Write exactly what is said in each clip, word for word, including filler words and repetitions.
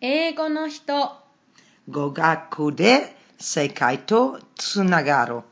英語の人。 語学で世界とつながる。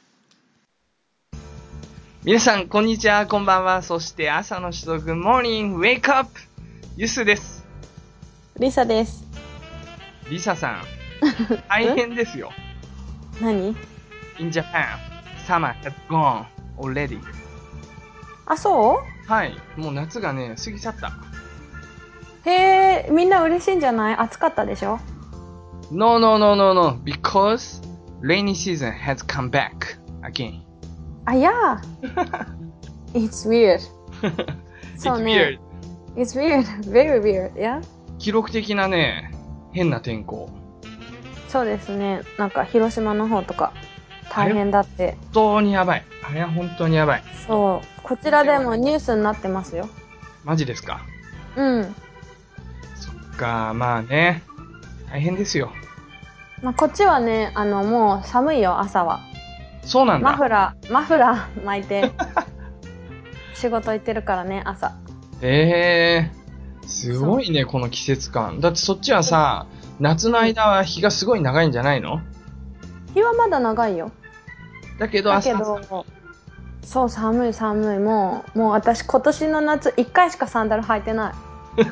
皆さん、こんにちは、こんばんは。そして朝の人、Good morning, wake up! ユスです。 リサです。 リサさん、大変ですよ。 何 In Japan, summer has gone already. あ、そはい、もう夏がね、過ぎちゃった。 うへえ、みんな嬉しいんじゃない？暑かったでしょ？ No, no, no, no, no, because rainy season has come back again. あ、いやIt's weird. It's そうね。 weird. It's weird. Very weird. Yeah? 記録的なね、変な天候。 そうですね。なんか広島の方とか大変だって。 本当にやばい。あれは本当にやばい。 そう。こちらでもニュースになってますよ。 マジですか？ うん。 そっか、まあね。大変ですよ。 まあ、こっちはね、あの、もう寒いよ、朝は。 そうなんだ。 マフラー、マフラー巻いて、仕事行ってるからね、朝。 ええー、すごいね、この季節感。だってそっちはさ、夏の間は日がすごい長いんじゃないの？ 日はまだ長いよ。 だけどだ朝けど、そう、寒い寒い。もう、もう私今年の夏いっかいしかサンダル履いてない。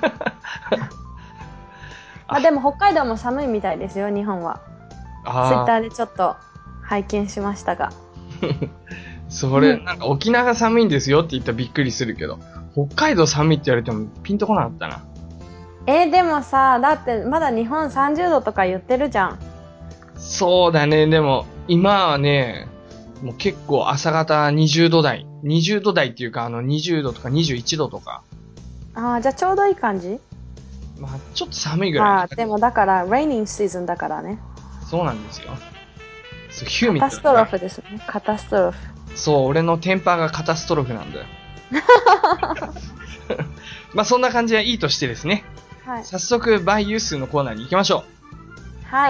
まあでも北海道も寒いみたいですよ、日本は。ツイッターでちょっと拝見しましたが。 それ、なんか沖縄が寒いんですよって言ったらびっくりするけど、北海道寒いって言われてもピンとこなかったな。 えー、でもさ、だってまだ日本さんじゅうどとか言ってるじゃん。 そうだね、でも今はね、もう結構朝方にじゅうど台。にじゅうど台っていうかあのにじゅうどとかにじゅういちどとか。 ああ、じゃあちょうどいい感じ？ まあちょっと寒いぐらい。 ああ、でもだから、レイニングシーズンだからね。 そうなんですよ。そう、ヒューミッド。 カタストロフですね。カタストロフ。 そう、俺のテンパーがカタストロフなんだよ。まあそんな感じはいいとしてですね。はい。早速、バイユースのコーナーに行きましょう。はい。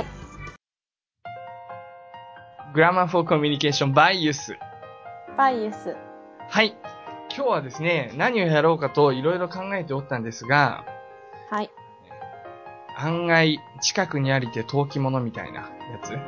グラマーフォーコミュニケーションバイユース。 バイユース。 はい。今日はですね、何をやろうかといろいろ考えておったんですが、 はい。 案外、近くにありて遠き者みたいなやつ。ん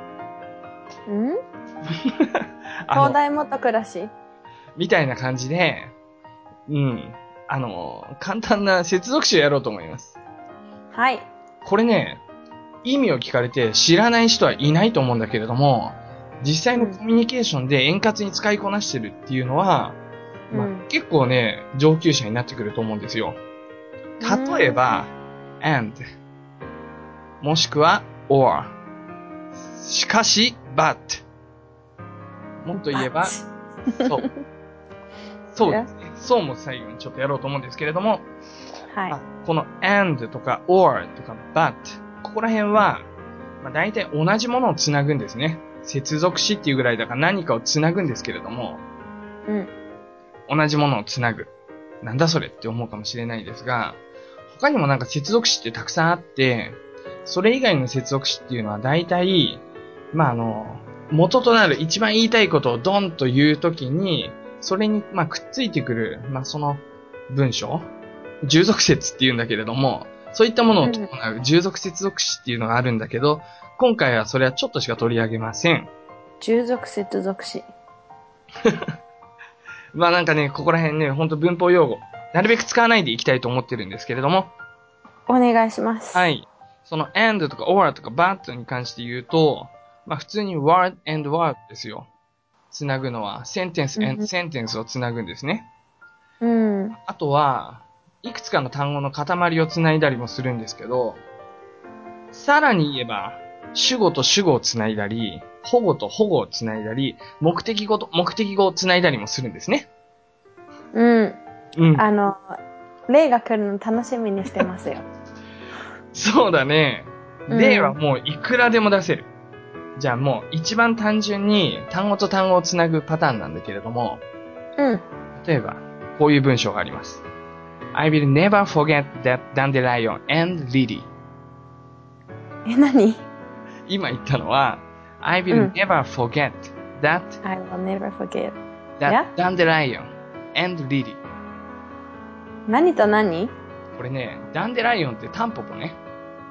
東大元暮らしみたいな感じで、うん。あの、簡単な接続詞をやろうと思います。 はい。 これね、意味を聞かれて知らない人はいないと思うんだけれども、実際のコミュニケーションで円滑に使いこなしてるっていうのは、うん、まあ、結構ね、上級者になってくると思うんですよ。例えば、and、もしくは or、しかし but、もっと言えば、そう。そうですね。そうも最後にちょっとやろうと思うんですけれども、はい。この and とか or とか but、ここら辺は、まあ、大体同じものをつなぐんですね。接続詞っていうぐらいだから何かをつなぐんですけれども、うん。同じものをつなぐ。なんだそれって思うかもしれないですが、他にもなんか接続詞ってたくさんあって、それ以外の接続詞っていうのは大体、まあ、あの、元となる一番言いたいことをドンと言うときに、それに、まあ、くっついてくる、まあ、その文章、従属説っていうんだけれども、そういったものを伴う従属接続詞っていうのがあるんだけど、今回はそれはちょっとしか取り上げません。 従属接続詞。 まあなんかね、ここら辺ね、ほんと文法用語、なるべく使わないでいきたいと思ってるんですけれども。 お願いします。 はい。その and とか or とか but に関して言うと、まあ普通に word and word ですよ。つなぐのは sentence and sentence をつなぐんですね。うん。あとは、いくつかの単語の塊をつないだりもするんですけど、さらに言えば、主語と主語をつないだり、保護と保護をつないだり、目的語と目的語をつないだりもするんですね。 うん。うん。あの、例が来るの楽しみにしてますよ。 そうだね。例はもういくらでも出せる。うん、じゃあもう一番単純に単語と単語をつなぐパターンなんだけれども、うん。例えば、こういう文章があります。I will never forget that dandelion and lily. え、何？ 今言ったのは、I will never forget that I will never forget that dandelion and lily. 何と何？ これね、ダンデライオンってタンポポね。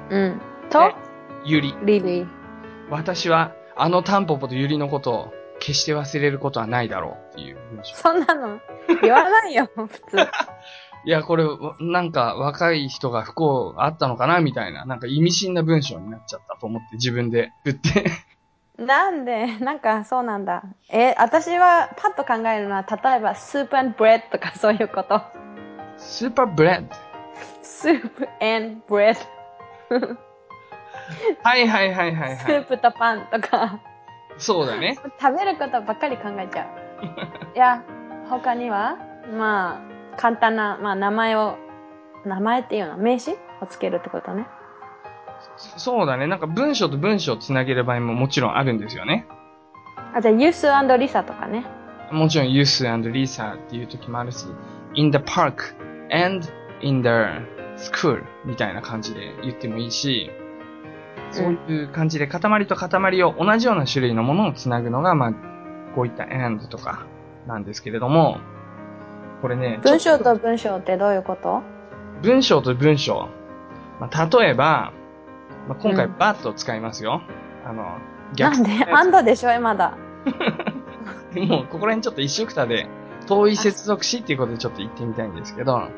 うん。と、 ゆり。 リリー。 私は、あのタンポポとゆりのことを決して忘れることはないだろうっていう文章。 そんなの言わないよ、普通。 いや、これ、なんか若い人が不幸あったのかなみたいな、なんか意味深な文章になっちゃったと思って自分で振って。 なんでなんかそうなんだ。え、私はパッと考えるのは、例えば、スープ and ブレッドとかそういうこと。 スーパーブレッド。 スープ and ブレッド。 はいはいはいはいはい。 スープとパンとか。 そうだね。 食べることばっかり考えちゃう。いや、他には、まあ、簡単な、まあ、名前を、名前っていうの名詞をつけるってことね。 そうだね。なんか文章と文章をつなげる場合ももちろんあるんですよね。 あ、じゃあ、ユース&リサとかね。 もちろんユース&リサっていう時もあるし、in the park and in the school みたいな感じで言ってもいいし、そういう感じで塊と塊を同じような種類のものをつなぐのが、まあ、こういった and とかなんですけれども、これね、 文章と文章ってどういうこと？ 文章と文章。まあ、例えば、まあ、今回 but を使いますよ。うん、あの、 逆なんで and でしょ、まだ。 もう、ここら辺ちょっと一緒くたで、遠い接続詞っていうことでちょっと言ってみたいんですけど、はい。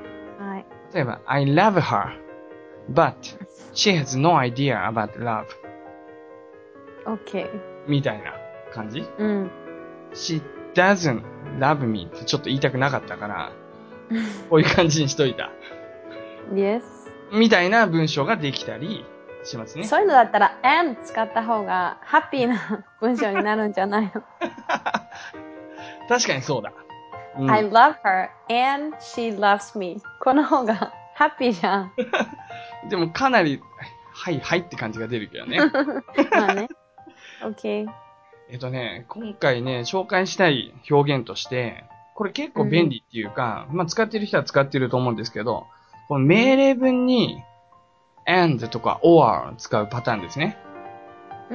例えば、I love her, but she has no idea about love.Okay. みたいな感じ、うん、She doesn't love me ってちょっと言いたくなかったから、こういう感じにしといた。 Yes. みたいな文章ができたりしますね。 そういうのだったら and 使った方がハッピーな文章になるんじゃないの？ 確かにそうだ。 うん、I love her and she loves me. この方がハッピーじゃん。 でもかなり、はいはいって感じが出るけどね。 まあね。OK。 えっとね、今回ね、紹介したい表現として、これ結構便利っていうか、うん、まあ使ってる人は使ってると思うんですけど、この命令文に and とか or を使うパターンですね。うん。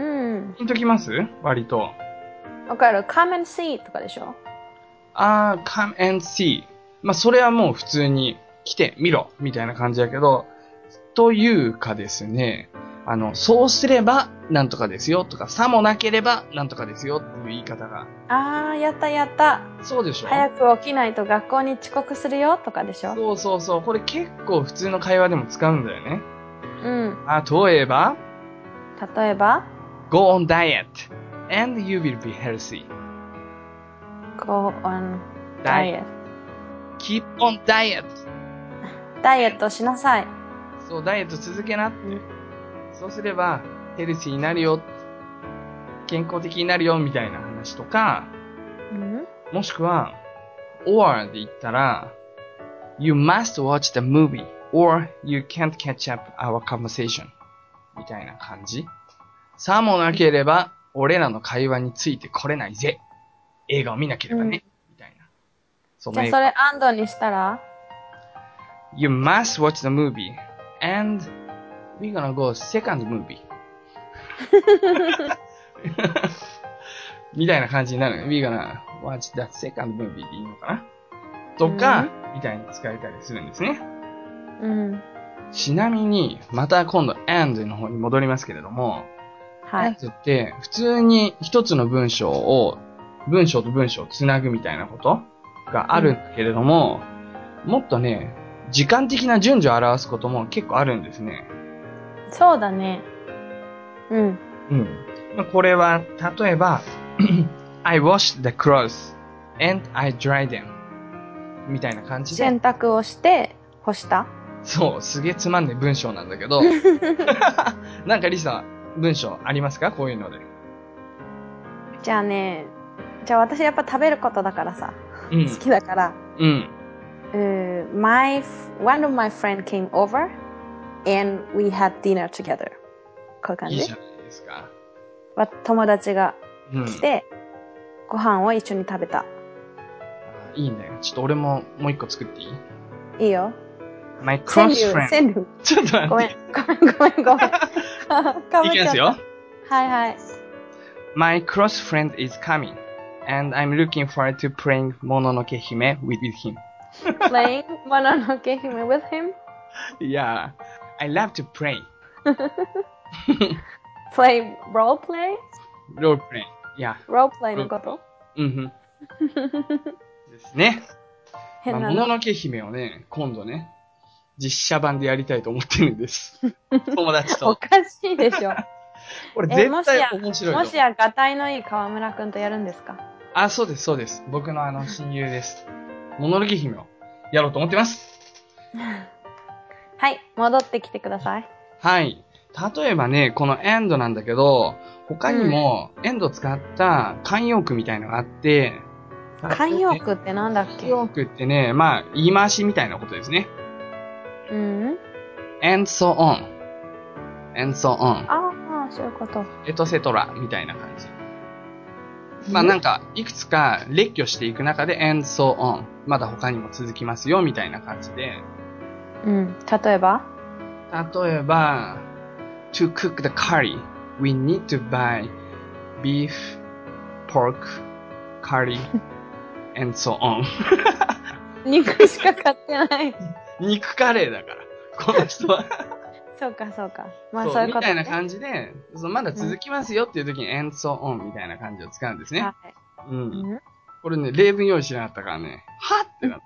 ピンときます？割と。 わかる。come and see とかでしょ？ あー、come and see。まあそれはもう普通に来てみろみたいな感じだけど、というかですね、あの、そうすればなんとかですよとか、さもなければなんとかですよっていう言い方が。 あー、やったやった。 そうでしょ？ 早く起きないと学校に遅刻するよとかでしょ？ そうそうそう。これ結構普通の会話でも使うんだよね。 うん。 例えば例えば Go on diet and you will be healthy. Go on diet. Keep on diet. ダイエットしなさい。 そう、ダイエット続けなって。うん、そうすれば、ヘルシーになるよ。健康的になるよ、みたいな話とか、うん、もしくは、or で言ったら、You must watch the movie, or you can't catch up our conversation. みたいな感じ。さもなければ、俺らの会話についてこれないぜ。映画を見なければね。うん、みたいな。 そじゃあそれ and にしたら You must watch the movie, and we're gonna go second movie. みたいな感じになるね。We're gonna watch that second movie でいいのかなとか、うん、みたいに使えたりするんですね。うん。ちなみに、また今度 and の方に戻りますけれども、はい。and って普通に一つの文章を、文章と文章をつなぐみたいなことがあるんだけれども、うん、もっとね、時間的な順序を表すことも結構あるんですね。 そうだね。うん。 うん。これは、例えば、I washed the clothes and I dried them みたいな感じで。 洗濯をして干した？ そう、すげえつまんねえ文章なんだけど。なんかリサ、文章ありますか？こういうので。 じゃあね、じゃあ私やっぱ食べることだからさ。うん、好きだから。うん。Uh, my one of my friend came over and we had dinner together. こういう感じ。 いいじゃないですか。 友達が来て、うん、ご飯を一緒に食べた。 いいね。ちょっと俺ももう一個作っていい？ いいよ。 My close friend. 川柳。 ちょっと待って。 ごめん、ごめん、ごめん、ごめん。 いきますよ。 はいはい。 My close friend is coming, and I'm looking forward to playing Mononoke Hime with him.Playing Mononoke Hime with him? Yeah, I love to play. play, role play? role play.いや。 role play のこと？ うんふん。ですね。まあ、もののけ姫をね、今度ね、実写版でやりたいと思ってるんです。友達と。 おかしいでしょ。 これ絶対面白いと思う。 もしや、がたいのいい河村くんとやるんですか？ あ、そうです、そうです。僕のあの、親友です。もののけ姫をやろうと思ってます。 はい、戻ってきてください。 はい。例えばね、このエンドなんだけど、他にもエンドを使った慣用句みたいのがあって、 慣用句ってなんだっけ？ 慣用句ってね、まあ、言い回しみたいなことですね。 うん。 and so on. and so on. ああ、そういうこと。 エトセトラみたいな感じ。まあなんか、いくつか列挙していく中で and so on. まだ他にも続きますよ、みたいな感じで。 うん。例えば？ 例えば、to cook the curry, we need to buy beef, pork, curry, and so on. 肉しか買ってない。 肉カレーだから、この人は。 そうか、そうか。まあそうそういうこと、ね。 みたいな感じで、そのまだ続きますよっていう時に、and so on みたいな感じを使うんですね。はい。うん。うん、これね、例文用意しなかったからね、はってなった。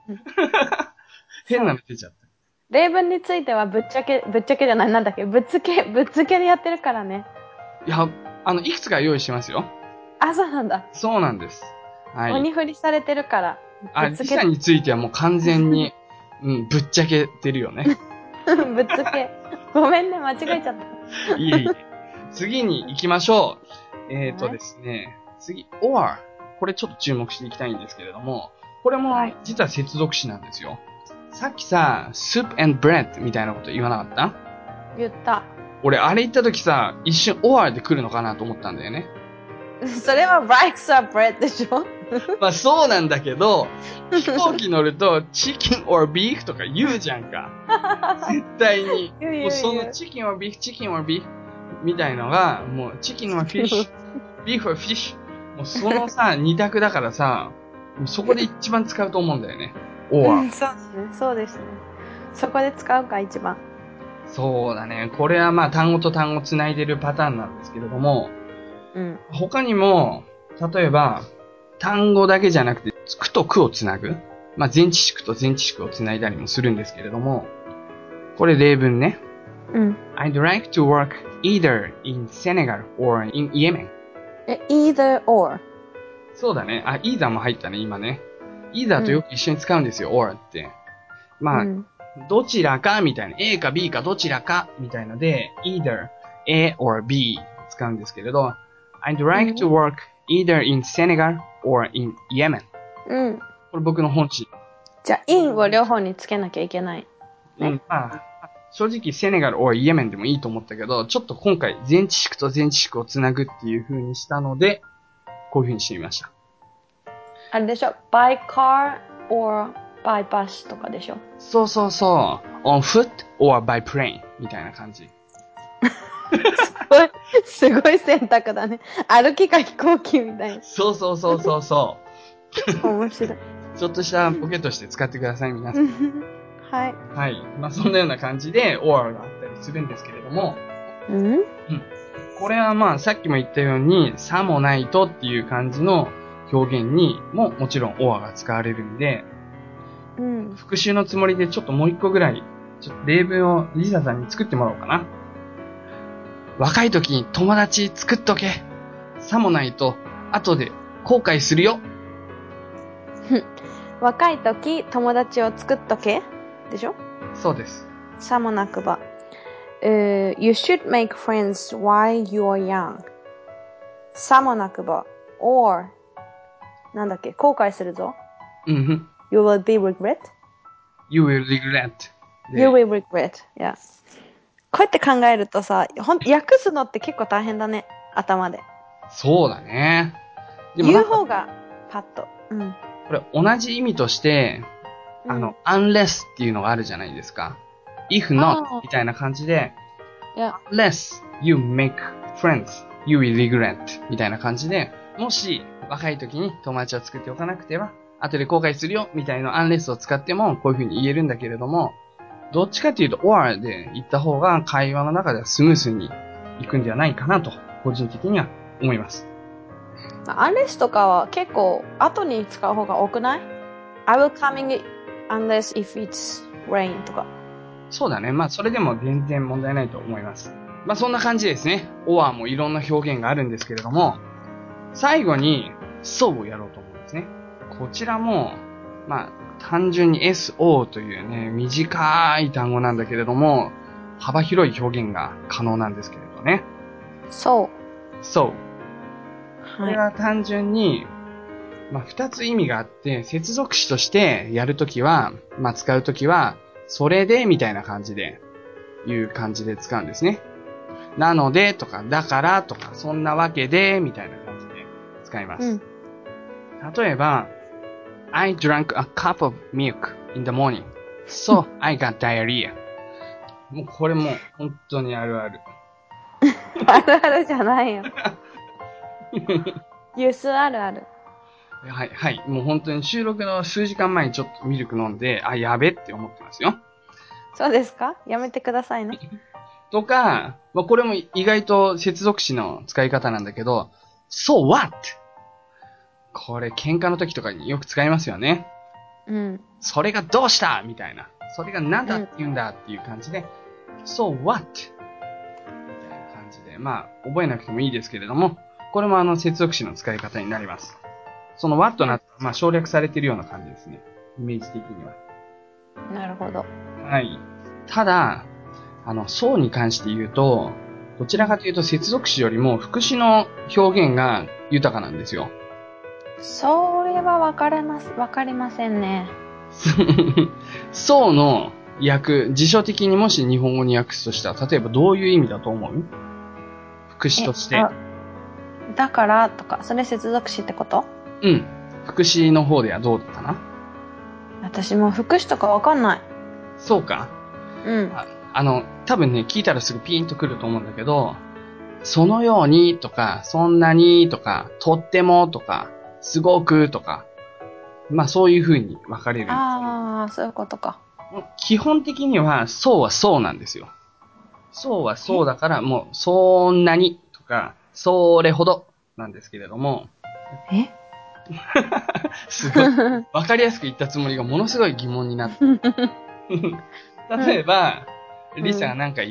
変なの出ちゃった。 例文についてはぶっちゃけ、ぶっちゃけじゃない、なんだっけ、ぶっつけ、ぶっつけでやってるからね。 いや、あの、いくつか用意しますよ。 あ、そうなんだ。 そうなんです。はい。 鬼振りされてるから。 あ、時差についてはもう完全に、うん、ぶっちゃけてるよね。 ぶっつけ。ごめんね、間違えちゃった。 いえいえ。次に行きましょう。えっ、ー、とですね、次、or。これちょっと注目していきたいんですけれども、これも実は接続詞なんですよ。はい、さっきさ、soup and bread みたいなこと言わなかった？ 言った。 俺、あれ言った時さ、一瞬 or で来るのかなと思ったんだよね。 それは rice or bread でしょ？ まあそうなんだけど、飛行機乗るとチキン or beef とか言うじゃんか。絶対に。もうそのチキン or beef、チキン or beef みたいのが、もうチキン or fish、ビーフ or fish。もうそのさ、二択だからさ、そこで一番使うと思うんだよね。or、うん。 そうですね。そうですね。そこで使うか、一番。 そうだね。これはまあ単語と単語つないでるパターンなんですけれども、うん、他にも、例えば、単語だけじゃなくて、句と句をつなぐ。まあ、前置詞句と前置詞句をつないだりもするんですけれども、これ例文ね。うん。I'd like to work either in Senegal or in Yemen. え、either or? そうだね。あ、either も入ったね、今ね。either とよく一緒に使うんですよ、うん、or って。まあ、うん、どちらかみたいな。A か B かどちらかみたいので、either A or B 使うんですけれど、I'd like to work either in Senegal or in Yemen. うん。これ僕の本心。 じゃあ、in を両方につけなきゃいけない。 ね、うん。まあ、正直セネガル or イエメンでもいいと思ったけど、ちょっと今回前置詞句と前置詞句をつなぐっていう風にしたので、こういう風にしてみました。 あれでしょ ?by car or by bus とかでしょ？ そうそうそう。on foot or by plane みたいな感じ。 すごい、すごい選択だね。歩きか飛行機みたいな。 そうそうそうそうそう。 面白い。 ちょっとしたボケとして使ってください、皆さん。 はい。 はい。まあ、そんなような感じで or があったりするんですけれども。うん、うん。これはまあ、さっきも言ったように、さもないとっていう感じの表現にももちろん or が使われるんで、うん。復習のつもりでちょっともう一個ぐらい、ちょっと例文をリサさんに作ってもらおうかな。若い時に友達作っとけ。さもないと、後で後悔するよ。 若い時、友達を作っとけでしょ？ そうです。 さもなくば。Uh, you should make friends while you're young. さもなくば。or なんだっけ後悔するぞ。うん。You will be regret? You will regret. You will regret. Yeah. こうやって考えるとさ、ほん訳すのって結構大変だね。頭で。 そうだね。 でも言う方がパッと。うん。 これ同じ意味として、うん、あの、unless っていうのがあるじゃないですか。if not みたいな感じで、yeah. unless you make friends, you will regret みたいな感じで、もし若い時に友達を作っておかなくては、後で後悔するよみたいな unless を使ってもこういう風に言えるんだけれども、 どっちかっていうと or で言った方が会話の中ではスムースにいくんではないかなと、個人的には思います。 unless とかは結構後に使う方が多くない？ I will coming unless if it's rain とか。 そうだね。まあそれでも全然問題ないと思います。まあそんな感じですね。or もいろんな表現があるんですけれども、最後に so をやろうと思うんですね。こちらも、まあ単純に so というね、短い単語なんだけれども、幅広い表現が可能なんですけれどね。 so。 so。これは単純に、まあ二つ意味があって、接続詞としてやるときは、まあ使うときは、それでみたいな感じで、いう感じで使うんですね。なのでとか、だからとか、そんなわけでみたいな感じで使います。うん、例えば、I drank a cup of milk in the morning, so I got diarrhea. もうこれも本当にあるある。 あるあるじゃないよ。ユースあるある。 はい、はい。もう本当に収録の数時間前にちょっとミルク飲んで、あ、やべって思ってますよ。 そうですか？やめてくださいね。 とか、まあ、これも意外と接続詞の使い方なんだけど、so what? これ喧嘩の時とかによく使いますよね。 うん。 それがどうしたみたいな。それが何だって言うんだっていう感じで、うん、so what? みたいな感じで、まあ、覚えなくてもいいですけれども、これもあの接続詞の使い方になります。その what な、まあ省略されているような感じですね。イメージ的には。 なるほど。 はい。ただ、あの、そうに関して言うと、どちらかというと接続詞よりも副詞の表現が豊かなんですよ。 それはわかります、わかりませんね。 そうの訳、辞書的にもし日本語に訳すとしたら、例えばどういう意味だと思う？副詞として。 だからとか、それ接続詞ってこと？ うん。副詞の方ではどうだったな？ 私も副詞とかわかんない。 そうか。 うん。 あ、あの、多分ね、聞いたらすぐピーンとくると思うんだけど、そのようにとか、そんなにとか、とってもとか、すごくとか、まあそういう風に分かれるんですよ。 ああ、そういうことか。 基本的には、そうはそうなんですよ。そうはそうだから、もう、そんなにとか、それほどなんですけれども。 えすごい。分かりやすく言ったつもりがものすごい疑問になって。例えば、リサがなんか言って、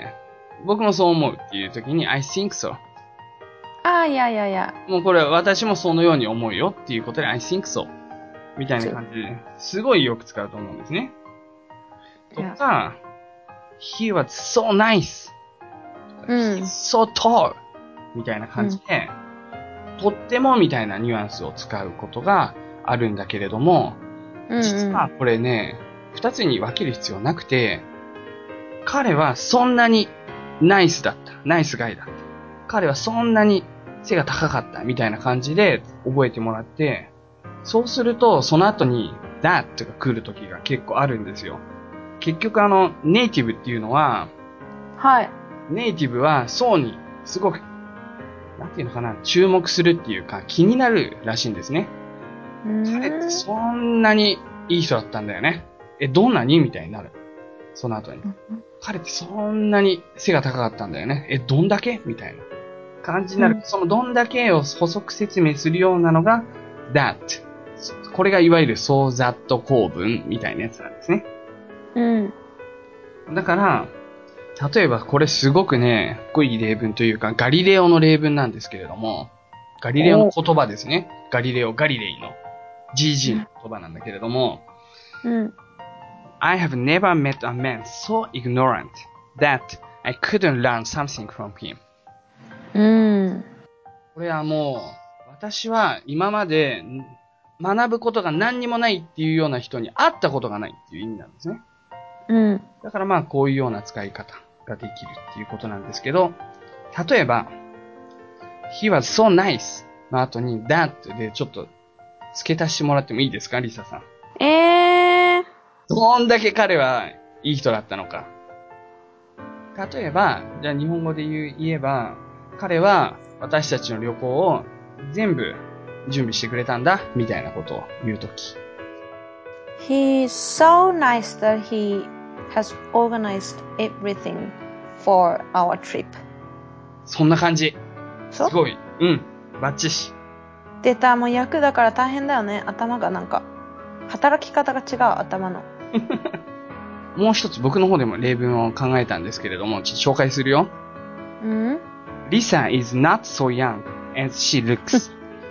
僕もそう思うっていう時に、I think so。 ああ、いやいやいや。 もうこれは私もそのように思うよっていうことで、I think so。みたいな感じで、すごいよく使うと思うんですね。とか、He was so nice。 うん、 He's so tall。みたいな感じで、うん、とってもみたいなニュアンスを使うことがあるんだけれども、うんうん、実はこれね、二つに分ける必要なくて、彼はそんなにナイスだった。ナイスガイだった。彼はそんなに背が高かったみたいな感じで覚えてもらって、そうするとその後に that が来る時が結構あるんですよ。結局あのネイティブっていうのは、 はい。 ネイティブはそうにすごく、なんていうのかな、注目するっていうか気になるらしいんですね。彼ってそんなにいい人だったんだよね。え、どんなにみたいになる。その後に。彼ってそんなに背が高かったんだよね。え、どんだけみたいな感じになる。うん、そのどんだけを補足説明するようなのが that。これがいわゆる so that 構文みたいなやつなんですね。 うん。 だから、例えばこれすごくね、濃い例文というかガリレオの例文なんですけれども、ガリレオの言葉ですね。ガリレオ、ガリレイの ジージー の言葉なんだけれども、 うん。 I have never met a man so ignorant that I couldn't learn something from him. うん。 これはもう、私は今まで学ぶことが何にもないっていうような人に会ったことがないっていう意味なんですね。 うん。 だからまあこういうような使い方ができるっていうことなんですけど、例えば、He was so nice の後に that でちょっと付け足してもらってもいいですか、リサさん。 えー。 どんだけ彼はいい人だったのか。例えば、じゃあ日本語で言う言えば、彼は私たちの旅行を全部準備してくれたんだ、みたいなことを言うとき。 He's so nice that he has organized everything for our trip. そんな感じ。 そう？ すごい。うん。バッチシ。 出た、もう役だから大変だよね。頭がなんか、働き方が違う、頭の。 もう一つ僕の方でも例文を考えたんですけれども、ちょっと紹介するよ。 うん？ Lisa is not so young as she looks.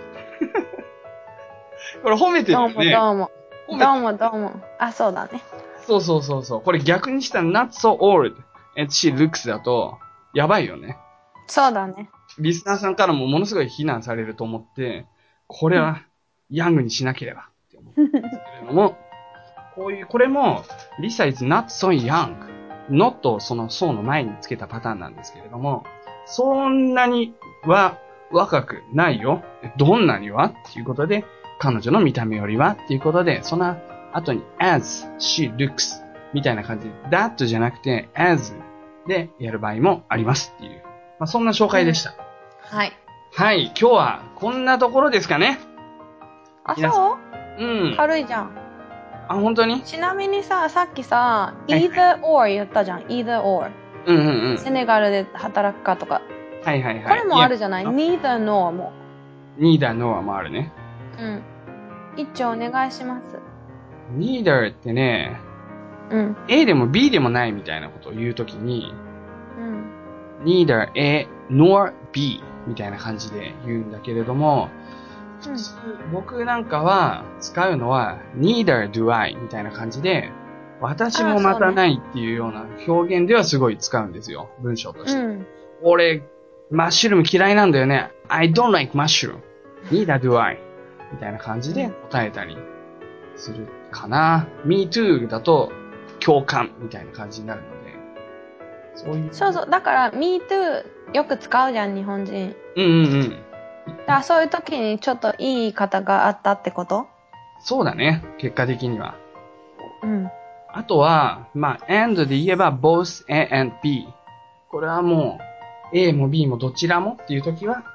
これ褒めてるよね。 どうもどうも。どうもどうも。あ、そうだね。 そうそうそうそう。これ逆にしたら not so old as she looks だと、やばいよね。 そうだね。 リスナーさんからもものすごい非難されると思って、これはヤングにしなければって思うんですけれども、こういう、これも、Lisa is not so young。not をその so の前につけたパターンなんですけれども、そんなには若くないよ。どんなにはっていうことで、彼女の見た目よりはっていうことで、その後に as she looks みたいな感じで、that じゃなくて as でやる場合もありますっていう。まあ、そんな紹介でした。 はい。 はい、今日はこんなところですかね。 あ、そう？ うん。 軽いじゃん。 あ、本当に？ ちなみにさ、さっきさ、either or 言ったじゃん。either or。 うんうんうん。 セネガルで働くかとか。 はいはいはい。 これもあるじゃない？ neither nor も。 neither nor もあるね。 うん。一丁お願いします。 neither ってね、 うん。 A でも B でもないみたいなことを言うときに、 うん。 neither A nor B みたいな感じで言うんだけれども、普通、うん、僕なんかは使うのは neither do I みたいな感じで、私もまたないっていうような表現ではすごい使うんですよ。文章として。うん、俺、マッシュルーム嫌いなんだよね。I don't like mushroom. Neither do I. みたいな感じで答えたりするかな。Me too だと共感みたいな感じになるので。 そういう。そうそう。だから Me too よく使うじゃん、日本人。 うんうんうん。 だからそういう時にちょっといい言い方があったってこと？ そうだね。結果的には。 うん。 あとは、まあ、and で言えば both A and B。これはもう A も B もどちらもっていう時は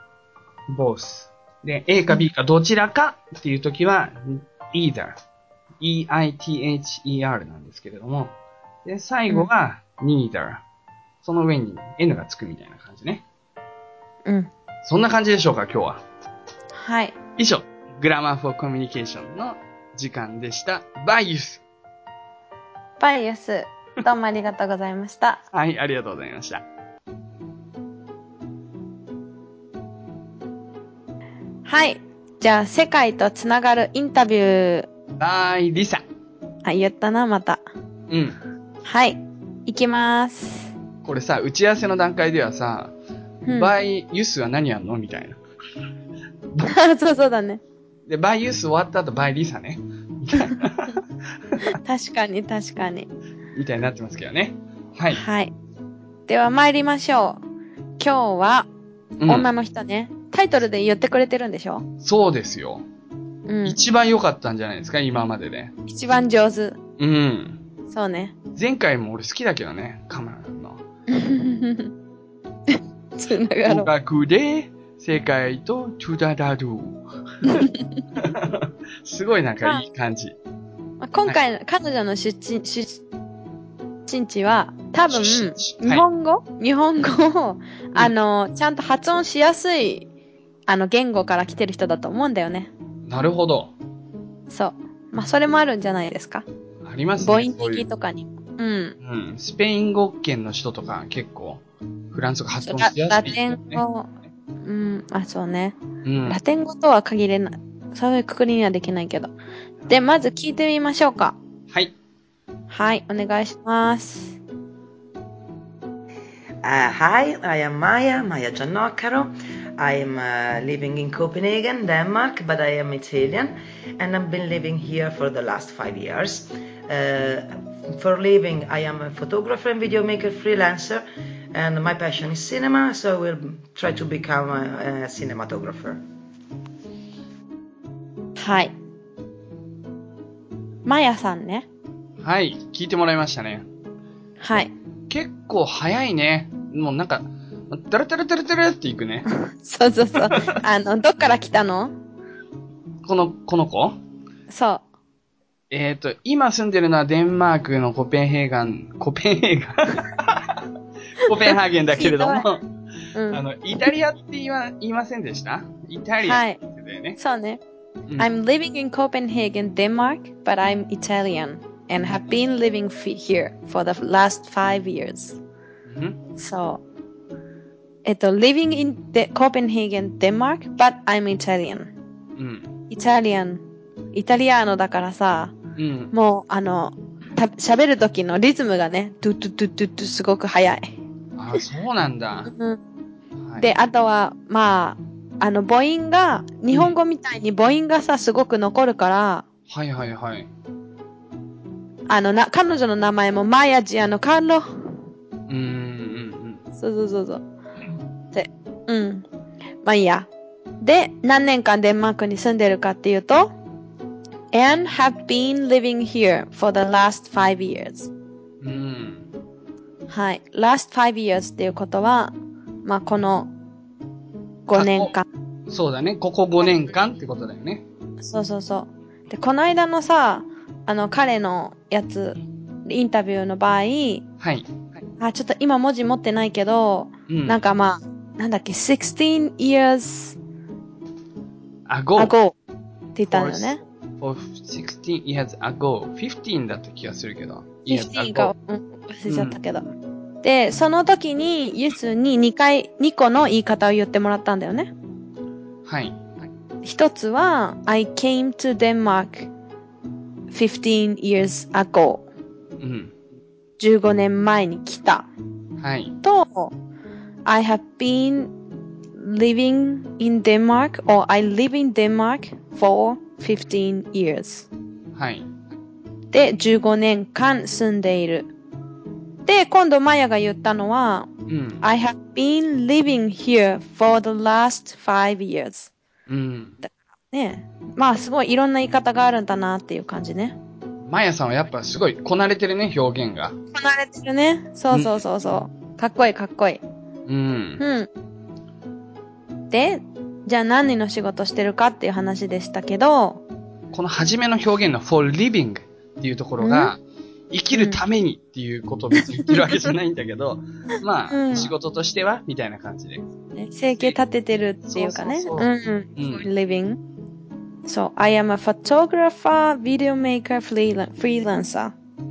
both。で、A か B かどちらかっていう時は either。E I T H E R なんですけれども。で、最後が neither。その上に N がつくみたいな感じね。 うん。 そんな感じでしょうか、今日は。 はい。 以上、グラマー for Communication の時間でした。バイユス。 バイユス。どうもありがとうございました。 はい、ありがとうございました。 はい。じゃあ、世界とつながるインタビュー。 バイ、リサ。 あ、言ったな、また。 うん。 はい。行きまーす。 これさ、打ち合わせの段階ではさ、うん、バイユスは何やんのみたいな。 そうそうだね。 で、バイユス終わった後、バイリサね。みたいな。 確かに、確かに。 みたいになってますけどね。はい。 はい。では参りましょう。今日は、女の人ね、うん、タイトルで言ってくれてるんでしょ？ そうですよ。うん。一番良かったんじゃないですか、今までで。 一番上手。 うん。 そうね。 前回も俺好きだけどね、カメラの。 つながろう。 語学で世界とトゥダダドゥ。すごいなんかいい感じ。 まあ、今回、はい、彼女の出身、出身地は多分、日本語、はい、日本語を、あの、ちゃんと発音しやすい、あの、言語から来てる人だと思うんだよね。 なるほど。 そう。まあ、それもあるんじゃないですか。 ありますね。 母音的とかに。うん。 うん。スペイン語圏の人とか結構、フランス語発音しやすい、ね、 ラテン語、うん、あ、そうね。 うん。 ラテン語とは限れない。そういうくくりにはできないけど。で、まず聞いてみましょうか。 はい。 はい、お願いします。 Uh, hi, I am Maya, Maya Giannocaro. I am uh, living in Copenhagen, Denmark, but I am Italian, and I've been living here for the last five years. Uh, for living, I am a photographer and video maker freelancer, and my passion is cinema, so I will try to become a, a cinematographer. はい。マヤさんね。 はい、聞いてもらいましたね。 はい。 結構早いね。もうなんか、ダラダラダラダラっていくね。 そうそうそう。あの、どっから来たの？ この、この子？ そう。 えっと、今住んでるのはデンマークのコペンヘーガン、コペンヘーガンコペンハーゲンだけれども、うん、あの、イタリアって言わ、言いませんでした？イタリアって言ってたよね。はい、そうね。 うん、I'm living in Copenhagen, Denmark, but I'm Italian and have been living here for the last five years. うん、そう。えっと、living in Copenhagen, Denmark, but I'm Italian. うん。イタリアン、イタリアーノだからさ、うん、もう、あの、喋る時のリズムがね、ドゥドゥドゥドゥドゥすごく早い。 あ、そうなんだ。 うんはい、で、あとは、まあ、あの、母音が、日本語みたいに母音がさ、すごく残るから、 はいはいはい。 あの、な、彼女の名前もマヤジアのカーロ。うーん、うん、そうそうそうそう。で、うん。まあいいや。で、何年間デンマークに住んでるかっていうと、and have been living here for the last five years. うん。はい。last five years っていうことは、まあこのごねんかん。 そうだね。ここごねんかんってことだよね。 そうそうそう。で、この間のさ、あの、彼のやつ、インタビューの場合、はい。あ、ちょっと今文字持ってないけど、うん、なんかまあ、なんだっけ、sixteen years ago, ago って言ったんだよね。 for sixteen years ago, fifteen だった気がするけど。 fifteen か、うん、忘れちゃったけど。うん、で、その時に、ユスににかい、にこの言い方を言ってもらったんだよね。はい。一つは、I came to Denmark fifteen years ago. うん。じゅうごねんまえに来た。はい。と、I have been living in Denmark or I live in Denmark for fifteen years. はい。で、じゅうごねんかん住んでいる。で、今度マヤが言ったのは、うん、I have been living here for the last five years. うん。だからね、まあすごいいろんな言い方があるんだなっていう感じね。 マヤさんはやっぱすごいこなれてるね、表現が。こなれてるね。そうそうそうそう。うん、かっこいいかっこいい。うん。うん。で、じゃあ何の仕事してるかっていう話でしたけど、 この初めの表現の for living っていうところが、生きるためにっていうことを別に言ってるわけじゃないんだけど、まあ、うん、仕事としてはみたいな感じで。 生計立ててるっていうかね。そうそうそううん。for living. So, I am a photographer, video maker, freelancer. うん。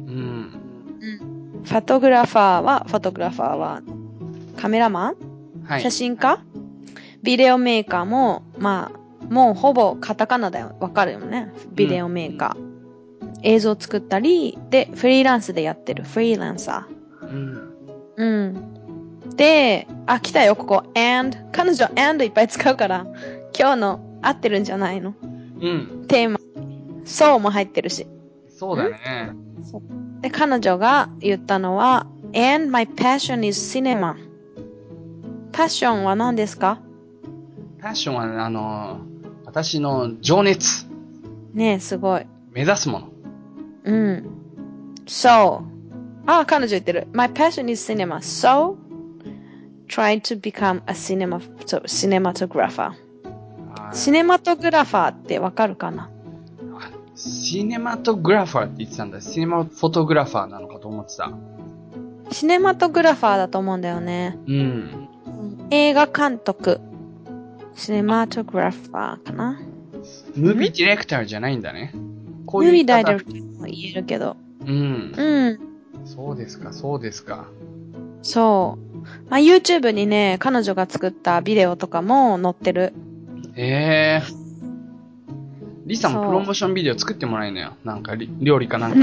フォトグラファーは、フォトグラファーは、カメラマン、はい、写真家、はい、ビデオメーカーも、まあ、もうほぼカタカナだよ。わかるよね。ビデオメーカー。うん、映像作ったり、で、フリーランスでやってる。フリーランサー。うん。うん。で、あ、来たよ、ここ。and。彼女、and いっぱい使うから、今日の合ってるんじゃないの？うん。テーマ。そうも入ってるし。 そうだね。 で、彼女が言ったのは、and my passion is cinema. パッションは何ですか？ パッションは、ね、あの、私の情熱。 ねえ、すごい。 目指すもの。 うん。So, あ、彼女言ってる。My passion is cinema. So, try to become a cinema, cinematographer. シネマトグラファーってわかるかな？ シネマトグラファーって言ってたんだ。シネマフォトグラファーなのかと思ってた。 シネマトグラファーだと思うんだよね。うん。映画監督。シネマトグラファーかな。 ムービーディレクターじゃないんだね。 こういうムービーダイレクターも言えるけど。うん。うん。 そうですか、そうですか。 そう。まあ、YouTube にね、彼女が作ったビデオとかも載ってる。 へえ。リサもプロモーションビデオ作ってもらえんのよ。なんか、料理かなんか。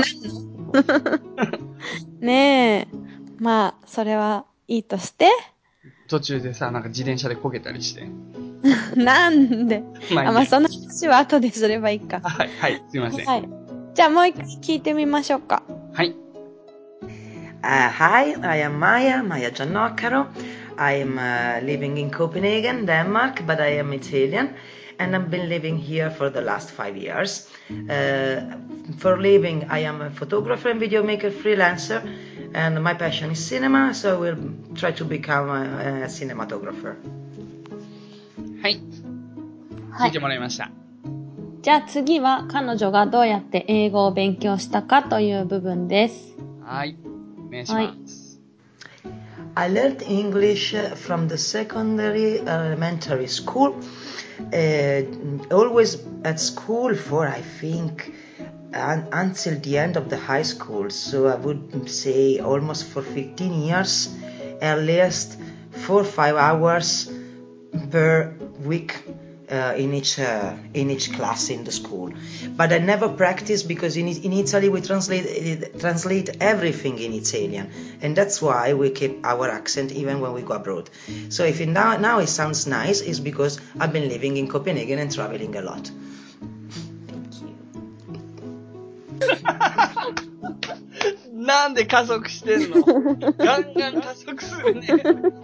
ねえ。まあ、それはいいとして。 途中でさ、なんか自転車でこけたりして。 なんでまあ、あまあ、その話は後ですればいいか。 はい、はい、すいません。はい。 じゃあもう一回聞いてみましょうか。 はい。 Uh, hi, I am Maya, Maya Giannocaro. I am uh, living in Copenhagen, Denmark, but I am Italian, and I've been living here for the last five years. Uh, for living, I am a photographer and video maker freelancer, and my passion is cinema, so I will try to become a, a cinematographer. はい。聞いてもらいました。 じゃあ次は彼女がどうやって英語を勉強したかという部分です。 はい。お願いします。 I learned English from the secondary elementary school. Uh, always at school for, I think, un- until the end of the high school. So I would say almost for fifteen years, at least four or five hours per week uh, in each uh, in each class in the school. But I never practiced because in in Italy we translate translate everything in Italian, and that's why we keep our accent even when we go abroad. So if it now now it sounds nice, it's because I've been living in Copenhagen and traveling a lot. Thank you. なんで加速してんの？ガンガン加速するね。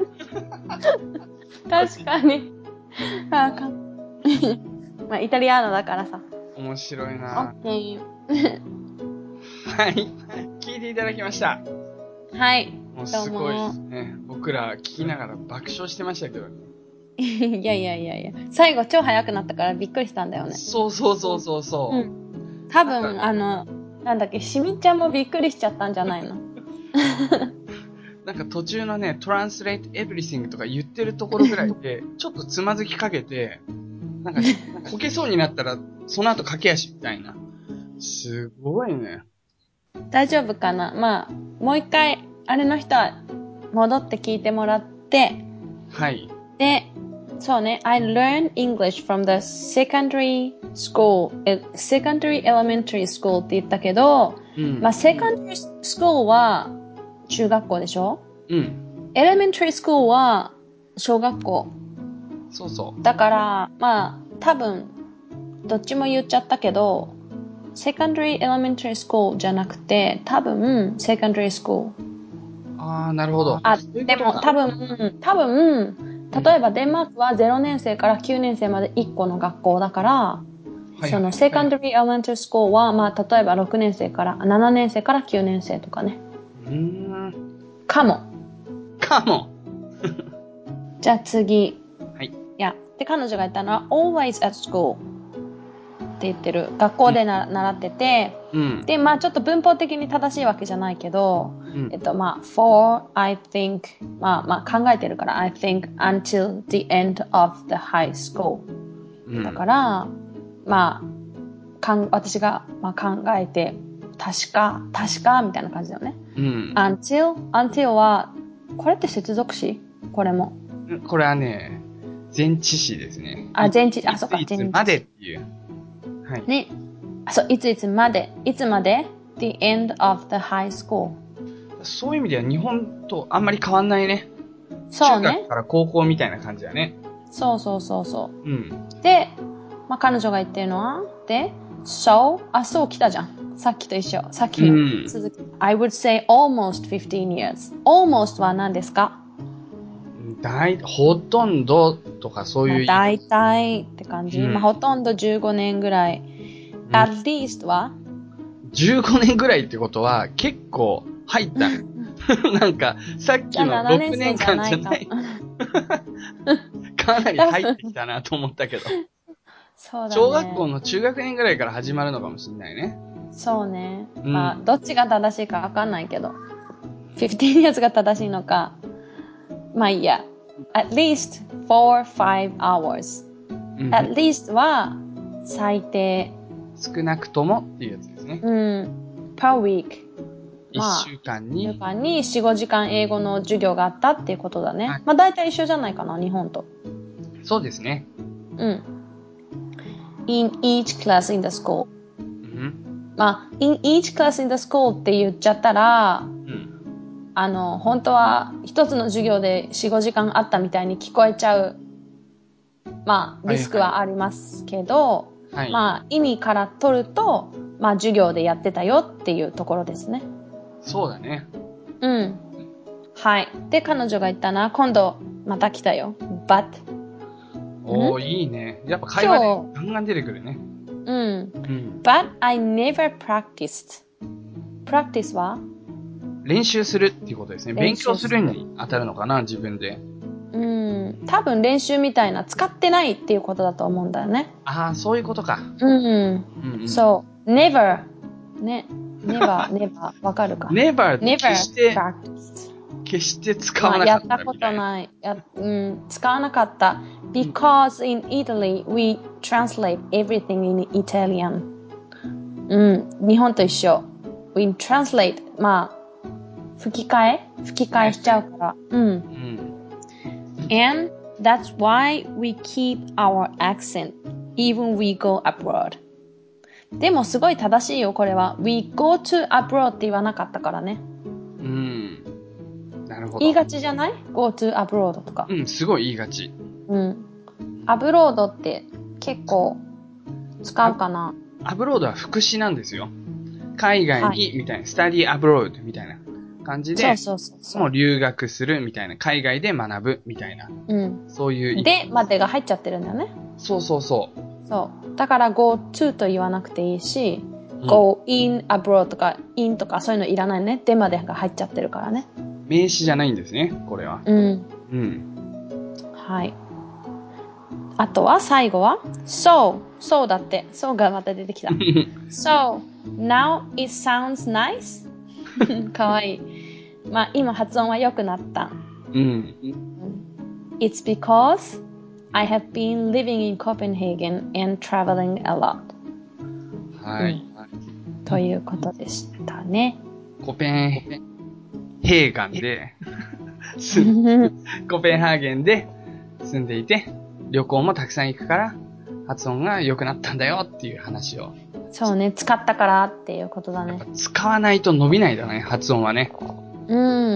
確かに。あかまあ、イタリアーノだからさ。 面白いな。 オッケー。 はい。聞いていただきました。 はい。 もうすごいですね。僕ら聞きながら爆笑してましたけどね。 いやいやいやいや。最後超早くなったからびっくりしたんだよね。 そうそうそうそうそう。うん。多分、あの、なんだっけ、しみちゃんもびっくりしちゃったんじゃないの？ なんか途中のね、translate everything とか言ってるところぐらいで、ちょっとつまずきかけて、なんか、こけそうになったら、その後駆け足みたいな。すごいね。 大丈夫かな？まあ、もう一回、あれの人は戻って聞いてもらって、 はい。 で、そうね、I learned English from the secondary school, secondary elementary school って言ったけど、うん、まあ、secondary school は中学校でしょ？うん。elementary school は小学校。 そうそう。 だから、まあ、多分、どっちも言っちゃったけど、secondary elementary school じゃなくて、多分、secondary school。 ああ、なるほど。 あ、でも多分、多分、例えばデンマークはゼロねん生からきゅうねん生までいっこの学校だから、はい、その secondary elementary school は、まあ、例えばろくねん生から、ななねん生からきゅうねん生とかね。 うーん。 かも。 かも。 じゃあ次。 はい。 いや、で、彼女が言ったのは always at school って言ってる。学校でな、うん、習ってて、うん、で、まあちょっと文法的に正しいわけじゃないけど、うん、えっと、まあ for, I think, まあまあ考えてるから、I think until the end of the high school、うん、だから、まあ、かん私が、まあ、考えて、確か、確か、みたいな感じだよね。うん、until, until は、これって接続詞？これも。 これはね、前置詞ですね。 あ、前置詞、あ、そうか、 いついつまでっていう。はい。 ね。あ、そう、いついつまで、いつまで the end of the high school。 そういう意味では日本とあんまり変わんないね。 そうね。 中学から高校みたいな感じだね。 そうそうそうそう。うん。で、まあ、彼女が言ってるのは、で、so、あ、そう来たじゃん。さっきと一緒。さっきの続き。うん、I would say almost fifteen years. almost は何ですか？ だい、ほとんどとかそういう意味。 まあ、大体って感じ。うん、まあ、ほとんどじゅうごねんぐらい。うん、at least はじゅうごねんぐらいってことは結構入った。なんか、さっきのろくねんかんじゃない。かなり入ってきたなと思ったけど。 そうだね。 小学校の中学年ぐらいから始まるのかもしれないね。 そうね。うん、まあ、どっちが正しいかわかんないけど。fifteen years が正しいのか。まあいいや。at least four, five hours、うん。at least は最低。 少なくともっていうやつですね。 うん。per week。 一週間に。 一週間によん、ごじかん英語の授業があったっていうことだね。はい、まあ大体一緒じゃないかな、日本と。 そうですね。 うん。in each class in the school。うん、まあ、in each class in the school って言っちゃったら、うん、あの、本当は一つの授業でよん、ごじかんあったみたいに聞こえちゃう、まあ、リスクはありますけど、はいはい、まあ、意味から取ると、まあ、授業でやってたよっていうところですね。 そうだね。 うん。はい。で、彼女が言ったな、今度、また来たよ。but。 おー、いいね。やっぱ会話でガンガン出てくるね。 うん。うん、but I never practiced. practice は練習するっていうことですね。勉強するに当たるのかな、自分で。 うん。 、多分練習みたいな使ってないっていうことだと思うんだよね。 ああ、そういうことか。 うん、うんうん、そう、never ね、never never わかるか。 never って決して never 決して使わなかったみたいな。 やったことないや、うん、使わなかった。Because in Italy we translate everything in Italian。うん、日本と一緒。We translate まあ吹き替え吹き替えしちゃうから。うん。うん、And that's why we keep our accent even we go abroad。でもすごい正しいよこれは。We go to abroad って言わなかったからね。 うん。なるほど。 言いがちじゃない ?go to abroad とか。 うん、すごい言いがち。 うん。アブロードって結構使うかな。 アブロードは副詞なんですよ。海外に、はい、みたいな、スタディアブロードみたいな感じで、そうそうそうそう。もう留学するみたいな、海外で学ぶみたいな。うん。そういう。 で、までが入っちゃってるんだよね。 そうそうそう。 そう。だから go to と言わなくていいし、うん、go in abroad とか in とかそういうのいらないね。でまでが入っちゃってるからね。 名詞じゃないんですね、これは。うん。うん。 はい。あとは最後は so so だって so がまた出てきたso now it sounds nice かわいい。まあ今発音は良くなった。うん。It's because I have been living in Copenhagen and traveling a lot。はい、うん。ということでしたね。 コペンヘーガンでコペンハーゲンで住んでいて。旅行もたくさん行くから発音が良くなったんだよっていう話を。 そうね、使ったからっていうことだね。 やっぱ使わないと伸びないだね、発音はね。うん。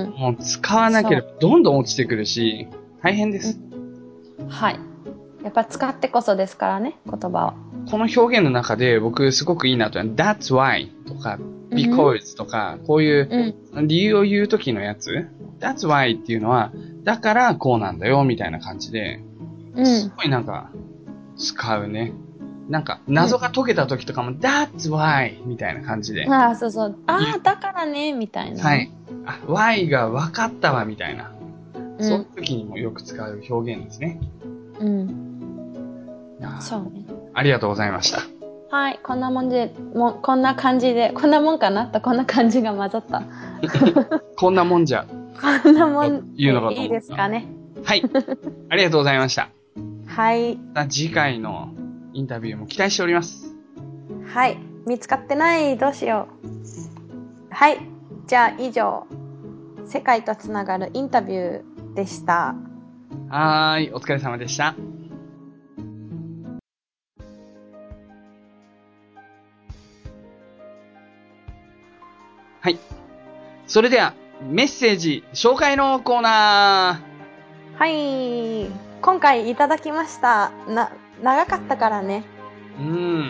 もう使わなければどんどん落ちてくるし、大変です、 うん。はい。やっぱ使ってこそですからね、言葉は。 この表現の中で僕すごくいいなと、That's why とか Because とか、こういう理由を言うときのやつ、That's why っていうのは、だからこうなんだよみたいな感じで、すごいなんか、使うね。なんか、謎が解けた時とかも、うん、That's why! みたいな感じで。 ああ、そうそう。ああ、だからね、みたいな。 はい。あ、why が分かったわ、みたいな。うん、そういう時にもよく使う表現ですね。うん。そうね。ありがとうございました。 はい、こんなもんで、もこんな感じで、こんなもんかなと、こんな感じが混ざった。 こんなもんじゃ。 こんなもんでいいですかね。 はい。ありがとうございました。 はい。 次回のインタビューも期待しております。 はい。見つかってない。どうしよう。はい。じゃあ以上、世界とつながるインタビューでした。 はーい。お疲れ様でした。はい。それでは、メッセージ紹介のコーナー。はい。今回いただきました。な、長かったからね。うん。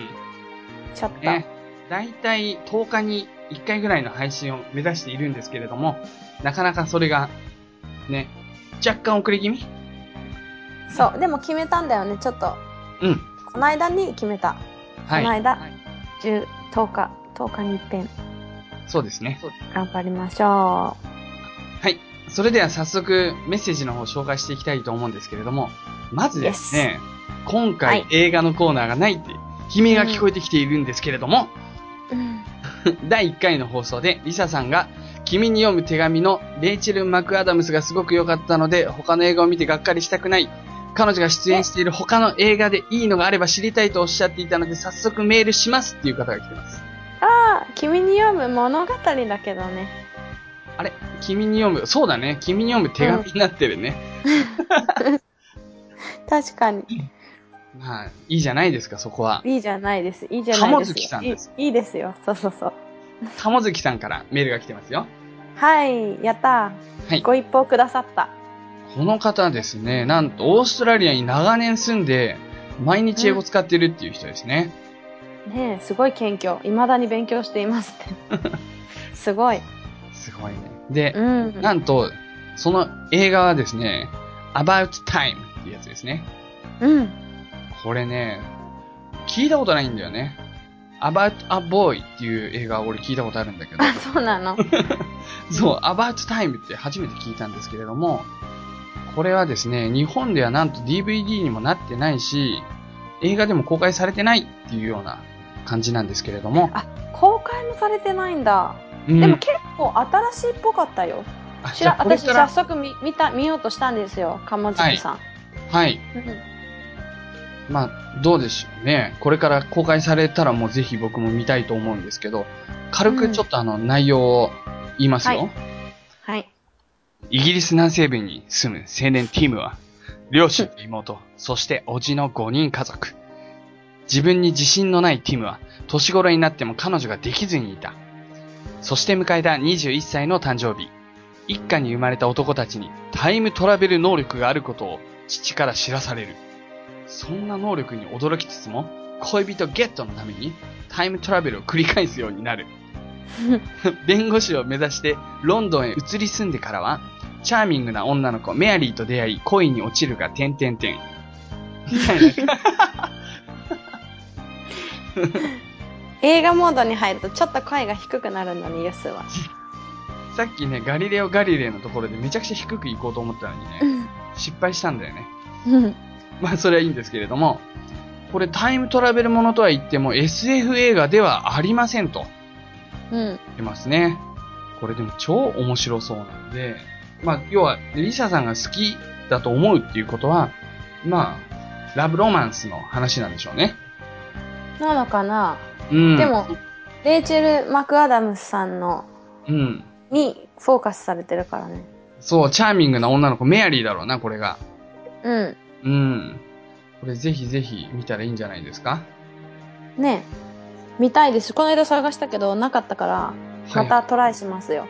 ちょっと。ね。 だいたいとおかにいっかいぐらいの配信を目指しているんですけれども、なかなかそれが、ね、若干遅れ気味？ そう。でも決めたんだよね、ちょっと。うん。この間に決めた。はい。この間、はい、じゅう、とおか、とおかに一遍。 そうですね。 頑張りましょう。はい。それでは早速メッセージの方を紹介していきたいと思うんですけれども、まずですね、yes. 今回映画のコーナーがないって悲鳴が聞こえてきているんですけれども、うん、だいいっかいの放送でリサさんが君に読む手紙のレイチェル・マクアダムスがすごく良かったので他の映画を見てがっかりしたくない。彼女が出演している他の映画でいいのがあれば知りたいとおっしゃっていたので早速メールしますっていう方が来てます。 ああ、君に読む物語だけどね。 あれ君に読む、そうだね。君に読む手紙になってるね。 うん、確かに。 まあ、いいじゃないですか、そこは。 いいじゃないです。いいじゃないです。 鴨月さんです。 いい、いいですよ。そうそうそう。 鴨月さんからメールが来てますよ。 はい、やったー。はい。ご一報くださった。 この方ですね、なんとオーストラリアに長年住んで、毎日英語使ってるっていう人ですね。 うん、ねえ、すごい謙虚。未だに勉強していますって。すごい。 すごいね。で、うん、なんと、その映画はですね、About Time っていうやつですね。うん。これね、聞いたことないんだよね。About a Boy っていう映画を俺聞いたことあるんだけど。 あ、そうなの？ そう、About Time って初めて聞いたんですけれども、 これはですね、日本ではなんと ディーブイディー にもなってないし、映画でも公開されてないっていうような感じなんですけれども。 あ、公開もされてないんだ。うん、でも結構新しいっぽかったよ。知ら私早速 見, 見た見ようとしたんですよ、鴨月さん。 はい。はい、うん、まあ、どうでしょうね。これから公開されたらもうぜひ僕も見たいと思うんですけど、軽くちょっとあの内容を言いますよ。 はい。はい、 イギリス南西部に住む青年ティムは、両親と妹、そして叔父のごにん家族。自分に自信のないティムは、年頃になっても彼女ができずにいた。そして迎えたにじゅういっさいの誕生日。一家に生まれた男たちにタイムトラベル能力があることを父から知らされる。そんな能力に驚きつつも、恋人ゲットのためにタイムトラベルを繰り返すようになる。弁護士を目指してロンドンへ移り住んでからは、チャーミングな女の子メアリーと出会い恋に落ちるが点々点。みたいな。 映画モードに入るとちょっと声が低くなるのに、ユスは。 さっきね、ガリレオ・ガリレイのところでめちゃくちゃ低く行こうと思ったのにね、うん、失敗したんだよね。うん、まあそれはいいんですけれども、これタイムトラベルものとは言っても エスエフ 映画ではありませんと。うん。言ってますね。これでも超面白そうなんで、まあ要はリサさんが好きだと思うっていうことは、まあ、ラブロマンスの話なんでしょうね。 なのかな、うん、でも、レイチェル・マクアダムスさんの、うん。にフォーカスされてるからね。 そう、チャーミングな女の子、メアリーだろうな、これが。うん。うん。これぜひぜひ見たらいいんじゃないですか？ ねえ。見たいです。この間探したけど、なかったから、またトライしますよ。はい、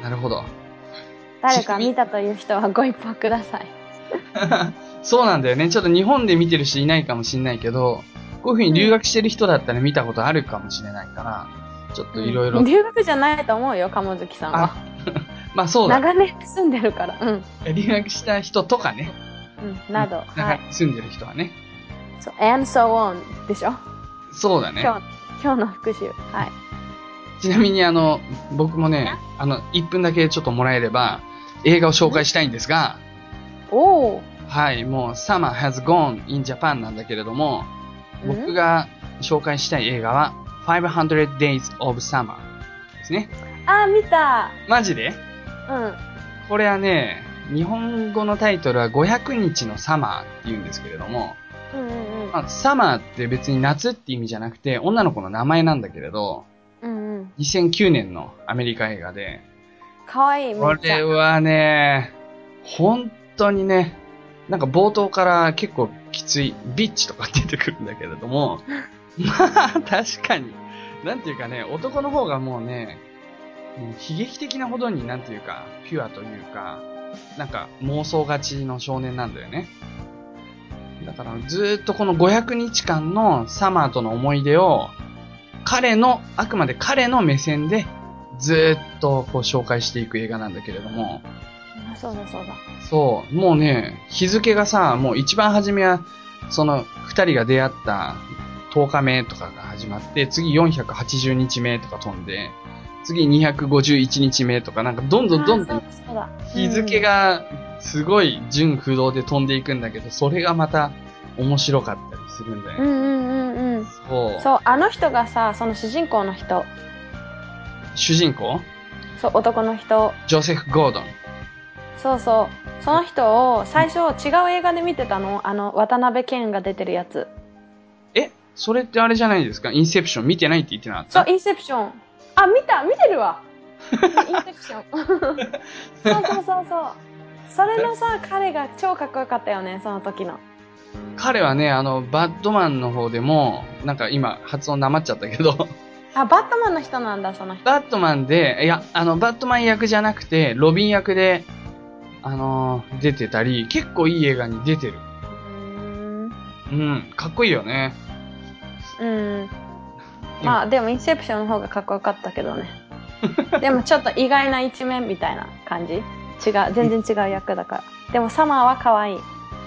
なるほど。 誰か見たという人はご一報ください。 そうなんだよね。ちょっと日本で見てる人いないかもしれないけど、こういう風に留学してる人だったら見たことあるかもしれないから、ちょっといろいろ。 留学じゃないと思うよ、鴨月さんは。 まあそうだ。 長年住んでるから。うん。 留学した人とかね。 うん、など。 はい。住んでる人はね。 そう、and so on でしょ。 そうだね。 今日、今日の復習。はい。 ちなみにあの、僕もね、あの、いっぷんだけちょっともらえれば、映画を紹介したいんですが、 おー。 はい、もう Summer has gone in Japan なんだけれども、僕が紹介したい映画は、ファイブハンドレッド Days of Summer ですね。 あー、見た。 マジで？ うん。 これはね、日本語のタイトルはごひゃくにちのサマーって言うんですけれども、うんうんうんまあ、サマーって別に夏って意味じゃなくて、女の子の名前なんだけれど、うんうん、にせんきゅうねんのアメリカ映画で、 かわいい、めっちゃ。 これはね、本当にね、なんか冒頭から結構きつい、ビッチとか出てくるんだけれども、まあ、確かに。なんていうかね、男の方がもうね、もう悲劇的なほどになんていうか、ピュアというか、なんか妄想がちの少年なんだよね。だからずーっとこのごひゃくにちかんのサマーとの思い出を、彼の、あくまで彼の目線でずーっとこう紹介していく映画なんだけれども。 あ、そうだそうだ。 そう、もうね、日付がさ、もう一番初めは、その二人が出会ったとおかめとかが始まって、次よんひゃくはちじゅうにちめとか飛んで、次にひゃくごじゅういちにちめとかなんかどんどんどんどん日付がすごい順不動で飛んでいくんだけど、それがまた面白かったりするんだよね。うんうんうんうん。 そう。そう、あの人がさ、その主人公の人。 主人公？ そう、男の人。 ジョセフ・ゴードン。 そうそう。その人を最初違う映画で見てたの。あの、渡辺謙が出てるやつ。 え？それってあれじゃないですか？インセプション見てないって言ってなかった？ そう、インセプション。あ、見た見てるわ。インセプション。そうそうそうそう。それのさ、彼が超かっこよかったよね、その時の。 彼はね、あの、バッドマンの方でも、なんか今、発音なまっちゃったけど。 あ、バッドマンの人なんだ、その人。 バッドマンで、いや、あの、バッドマン役じゃなくて、ロビン役で、あのー、出てたり、結構いい映画に出てる。うーん。うん、かっこいいよね。 うん。まあ、でも、インセプションの方がかっこよかったけどね。でも、ちょっと意外な一面みたいな感じ。違う、全然違う役だから。でも、サマーは可愛い。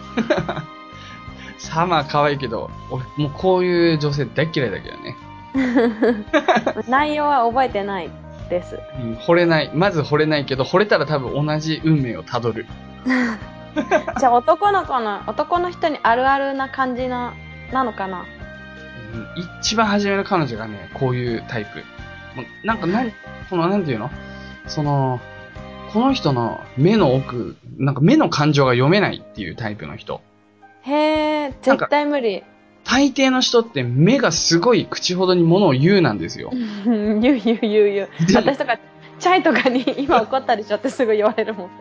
サマー可愛いけど、俺、もうこういう女性大嫌いだけどね。 内容は覚えてないです。 うん、惚れない。まず惚れないけど、惚れたら多分同じ運命をたどる。 じゃあ男の子の、男の人にあるあるな感じな、なのかな。 うん、一番初めの彼女がね、こういうタイプ。もうなんかな、この、なんていうのその、この人の目の奥、なんか目の感情が読めないっていうタイプの人。 へー、絶対無理。 大抵の人って目がすごい口ほどに物を言うなんですよ。 言う言う言う言う。私とか、チャイとかに今怒ったでしょってすぐ言われるもん。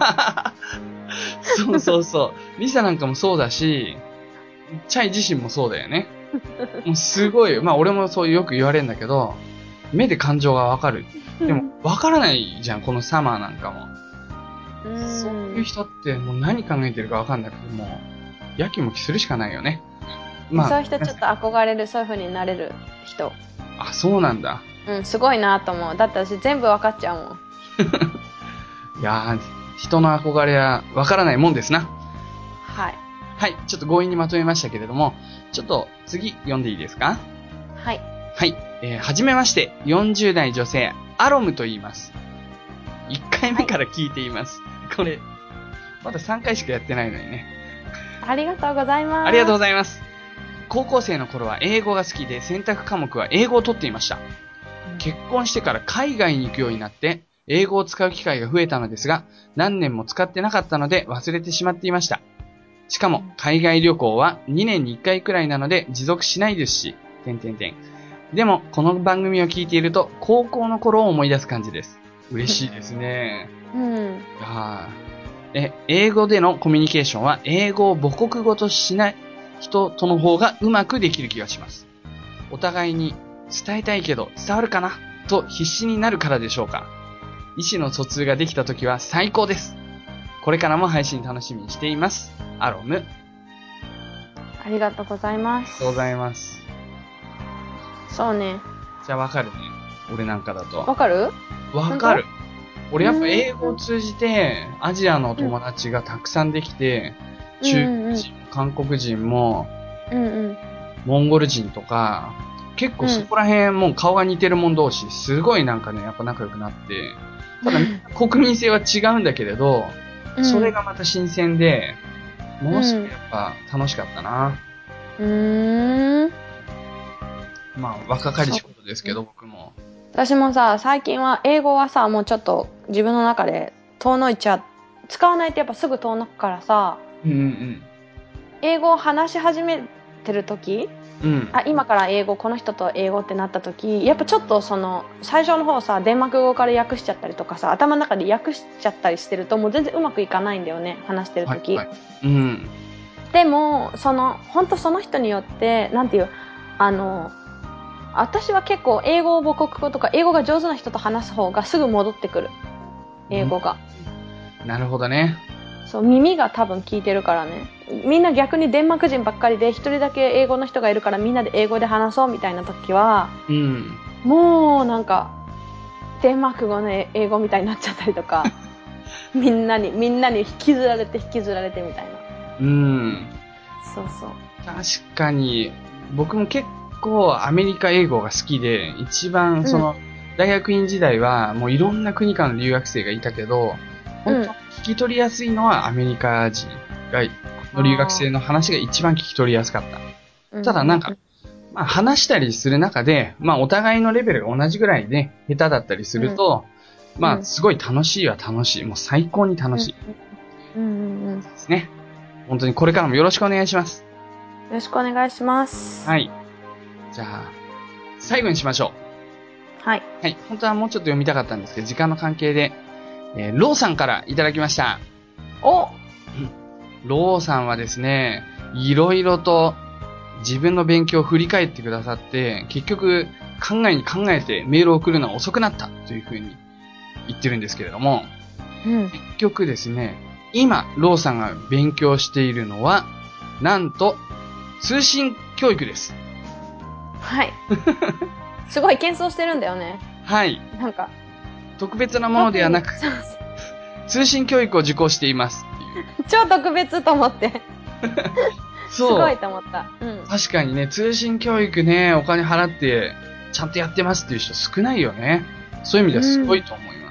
そうそうそう。リサなんかもそうだし、チャイ自身もそうだよね。もうすごい、まあ俺もそうよく言われるんだけど、目で感情がわかる。でも、わからないじゃん、このサマーなんかも。うん、そういう人ってもう何考えてるかわかんなくて、もう、やきもきするしかないよね。 まあ、そういう人ちょっと憧れる、そういう風になれる人。 あ、そうなんだ。 うん、すごいなと思う。だって私全部わかっちゃうもん。 いやー、人の憧れはわからないもんですな。 はい。 はい、ちょっと強引にまとめましたけれども、ちょっと次読んでいいですか？ はい。 はい、えー、はじめまして、よんじゅう代女性、アロムと言います。いっかいめから聞いています。はい、これ、まださんかいしかやってないのにね。 ありがとうございます。 ありがとうございます。高校生の頃は英語が好きで選択科目は英語を取っていました。結婚してから海外に行くようになって英語を使う機会が増えたのですが、何年も使ってなかったので忘れてしまっていました。しかも海外旅行はにねんにいっかいくらいなので持続しないですし、点々点。でもこの番組を聞いていると高校の頃を思い出す感じです。嬉しいですね。 うん。 いやえ、英語でのコミュニケーションは英語を母国語としない人との方がうまくできる気がします。お互いに伝えたいけど伝わるかなと必死になるからでしょうか。意思の疎通ができた時は最高です。これからも配信楽しみにしています。アロム。 ありがとうございます。 ありがとうございます。 そうね。 じゃあわかるね。俺なんかだと。 わかる？ わかる。俺やっぱ英語を通じてアジアの友達がたくさんできて、うん、中国人、うんうん、韓国人も、 うんうん、 モンゴル人とか、結構そこら辺もう顔が似てる者同士、すごいなんかね、やっぱ仲良くなって、ただ国民性は違うんだけれど、うん、それがまた新鮮で、ものすごくやっぱ楽しかったな。 うーん。 まあ、若かりしことですけど、僕も。 私もさ、最近は英語はさ、もうちょっと自分の中で遠のいちゃう。使わないとやっぱすぐ遠のくからさ、 うんうん、 英語を話し始めてる時、 うん、 あ、今から英語、この人と英語ってなった時、やっぱちょっとその、最初の方さ、デンマーク語から訳しちゃったりとかさ、頭の中で訳しちゃったりしてると、もう全然うまくいかないんだよね、話してる時。 はいはい、うん、 でも、その、本当その人によって、なんていう、あの、私は結構英語を母国語とか英語が上手な人と話す方がすぐ戻ってくる。英語が。 うん、なるほどね。 そう、耳が多分聞いてるからね。みんな逆にデンマーク人ばっかりで一人だけ英語の人がいるからみんなで英語で話そうみたいな時は、 うん、 もうなんかデンマーク語の英語みたいになっちゃったりとかみんなにみんなに引きずられて引きずられてみたいな。 うん。 そうそう。 確かに僕も結構アメリカ英語が好きで、一番その、うん、大学院時代はもういろんな国からの留学生がいたけど、本当聞き取りやすいのはアメリカ人がの留学生の話が一番聞き取りやすかった。ただなんか、まあ話したりする中で、まあお互いのレベルが同じぐらいで下手だったりすると、うん、まあすごい楽しいは楽しい。もう最高に楽しい。 うんうんうん。 ですね。本当にこれからもよろしくお願いします。 よろしくお願いします。 はい。じゃあ、最後にしましょう。はい。 はい。本当はもうちょっと読みたかったんですけど、時間の関係で、えー、ローさんからいただきました。 おローさんはですね、いろいろと自分の勉強を振り返ってくださって、結局考えに考えてメールを送るのは遅くなったというふうに言ってるんですけれども、 うん、 結局ですね、今、ローさんが勉強しているのは、なんと、通信教育です。 はい。すごい謙遜してるんだよね。 はい。 なんか。 特別なものではなく、通信教育を受講していますっていう。 超特別と思って。 そう。 すごいと思った。うん。 確かにね、通信教育ね、お金払って、ちゃんとやってますっていう人少ないよね。そういう意味ではすごいと思います。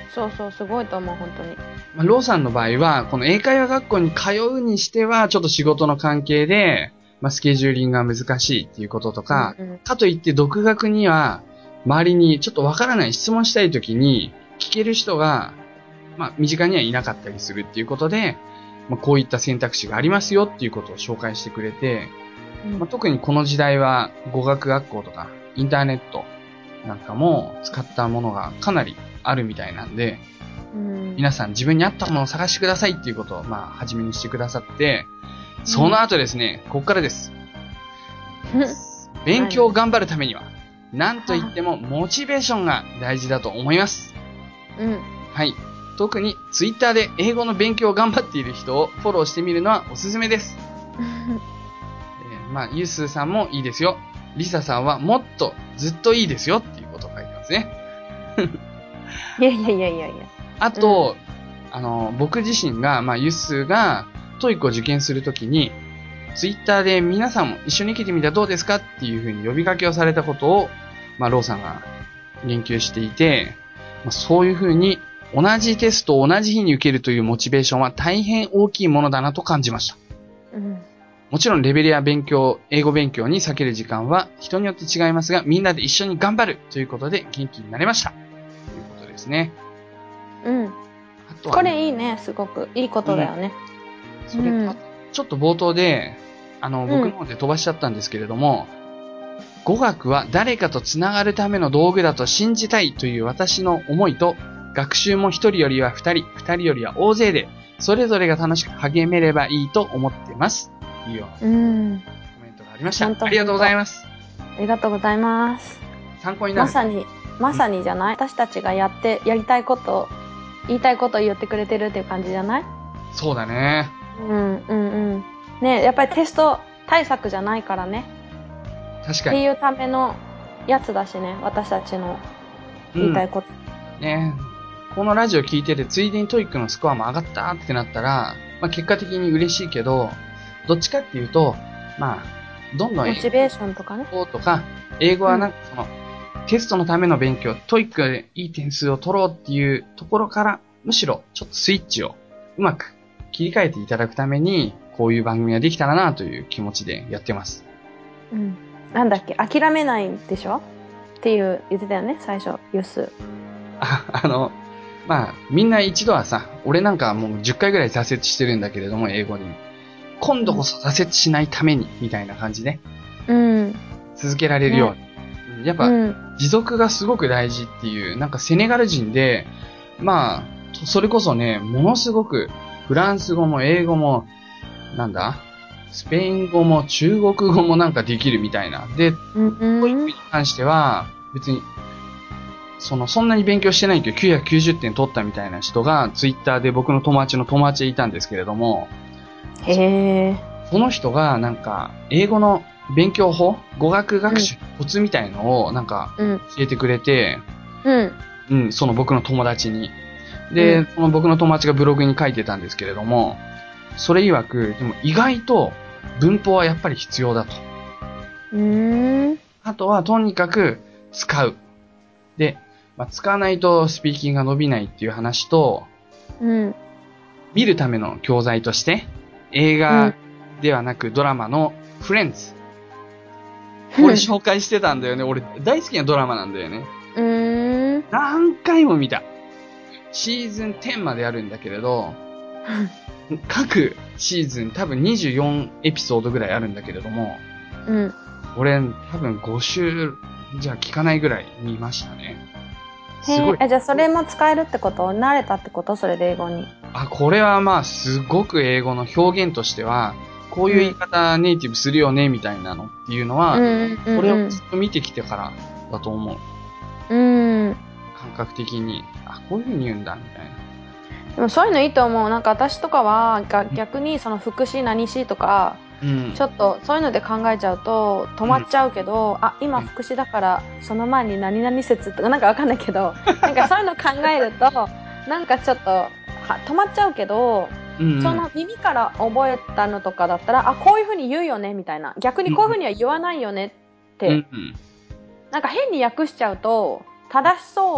そうそう、すごいと思う、本当に。 まあ、ローさんの場合は、この英会話学校に通うにしては、ちょっと仕事の関係で、まあ、スケジューリングが難しいっていうこととか、うんうん、かといって独学には、周りにちょっとわからない質問したいときに、聞ける人が、まあ、身近にはいなかったりするっていうことで、まあ、こういった選択肢がありますよっていうことを紹介してくれて、うんまあ、特にこの時代は語学学校とかインターネットなんかも使ったものがかなりあるみたいなんで、うん、皆さん自分に合ったものを探してくださいっていうことをまあ初めにしてくださって、その後ですね、ここからです。勉強を頑張るためには、なんといってもモチベーションが大事だと思います。うん、はい。特にツイッターで英語の勉強を頑張っている人をフォローしてみるのはおすすめです。えー、まあ、ユースーさんもいいですよ。リサさんはもっとずっといいですよっていうことを書いてますね。 いやいやいやいやいや。 あと、うん、あの、僕自身が、まあ、ユースーがトイックを受験するときに、ツイッターで皆さんも一緒に受けてみたらどうですかっていうふうに呼びかけをされたことを、まあ、ローさんが言及していて、まあ、そういうふうに同じテストを同じ日に受けるというモチベーションは大変大きいものだなと感じました。うん、もちろんレベルや勉強、英語勉強に避ける時間は人によって違いますが、みんなで一緒に頑張るということで元気になれました。ということですね。 うん。あとはね、これいいね、すごく。いいことだよね。 うん、それ、うん、ちょっと冒頭で、あの、僕の方で飛ばしちゃったんですけれども、うん、語学は誰かとつながるための道具だと信じたいという私の思いと、学習も一人よりは二人、二人よりは大勢で、それぞれが楽しく励めればいいと思ってます。というようなコメントがありました。ありがとうございます。 ありがとうございます。 参考になる。 まさに、まさにじゃない、うん、私たちがやって、やりたいこと、言いたいことを言ってくれてるっていう感じじゃない？ そうだね。 うんうんうん。ね、やっぱりテスト対策じゃないからね。 確かに。 っていうためのやつだしね、私たちの言いたいこと。 うん、ね。このラジオ聞いてて、ついでにトイックのスコアも上がったってなったら、まあ結果的に嬉しいけど、どっちかっていうと、まあ、どんどんモチベーションとかね。 とか、英語はなんかその、うん、テストのための勉強、トイックでいい点数を取ろうっていうところから、むしろちょっとスイッチをうまく切り替えていただくために、こういう番組ができたらなという気持ちでやってます。 うん。なんだっけ、諦めないでしょっていう言ってたよね、最初、ユース。 あ、あの、まあ、みんな一度はさ、俺なんかもうじゅっかいぐらい挫折してるんだけれども、英語に。今度こそ挫折しないために、みたいな感じで。うん。続けられるように。ね、やっぱ、うん、持続がすごく大事っていう、なんかセネガル人で、まあ、それこそね、ものすごく、フランス語も英語も、なんだスペイン語も中国語もなんかできるみたいな。で、トイックに関しては、別に、その、そんなに勉強してないけどきゅうひゃくきゅうじゅってん取ったみたいな人が、ツイッターで僕の友達の友達でいたんですけれども、 へー。 その人が、なんか、英語の勉強法、語学学習コツみたいのを、なんか、教えてくれて、うん。うん、その僕の友達に。で、うん、その僕の友達がブログに書いてたんですけれども、それ曰く、でも意外と文法はやっぱり必要だと。うーん。あとはとにかく使う。で、まあ、使わないとスピーキングが伸びないっていう話と、うん。見るための教材として、映画ではなくドラマのフレンズ。これ紹介してたんだよね。俺大好きなドラマなんだよね。うーん。何回も見た。シーズンじゅうまであるんだけれど、各シーズン多分にじゅうよんエピソードぐらいあるんだけれども、うん。俺多分ご週じゃ聞かないぐらい見ましたね。 すごい。え、じゃあそれも使えるってこと？慣れたってこと？それで英語に。 あ、これはまあすごく英語の表現としては、こういう言い方ネイティブするよねみたいなのっていうのは、うんうんうんうん、これをずっと見てきてからだと思う。うん。感覚的に、あ、こういう風に言うんだみたいな。 でもそういうのいいと思う。なんか私とかは逆にその副詞何詞とか、うん、ちょっとそういうので考えちゃうと止まっちゃうけど、うん、あ、今副詞だからその前に何々説とかなんかわかんないけど、なんかそういうの考えるとなんかちょっとは止まっちゃうけど、うんうん、その耳から覚えたのとかだったら、あ、こういう風に言うよねみたいな、逆にこういう風には言わないよねって、うんうん、なんか変に訳しちゃうと正しそうっ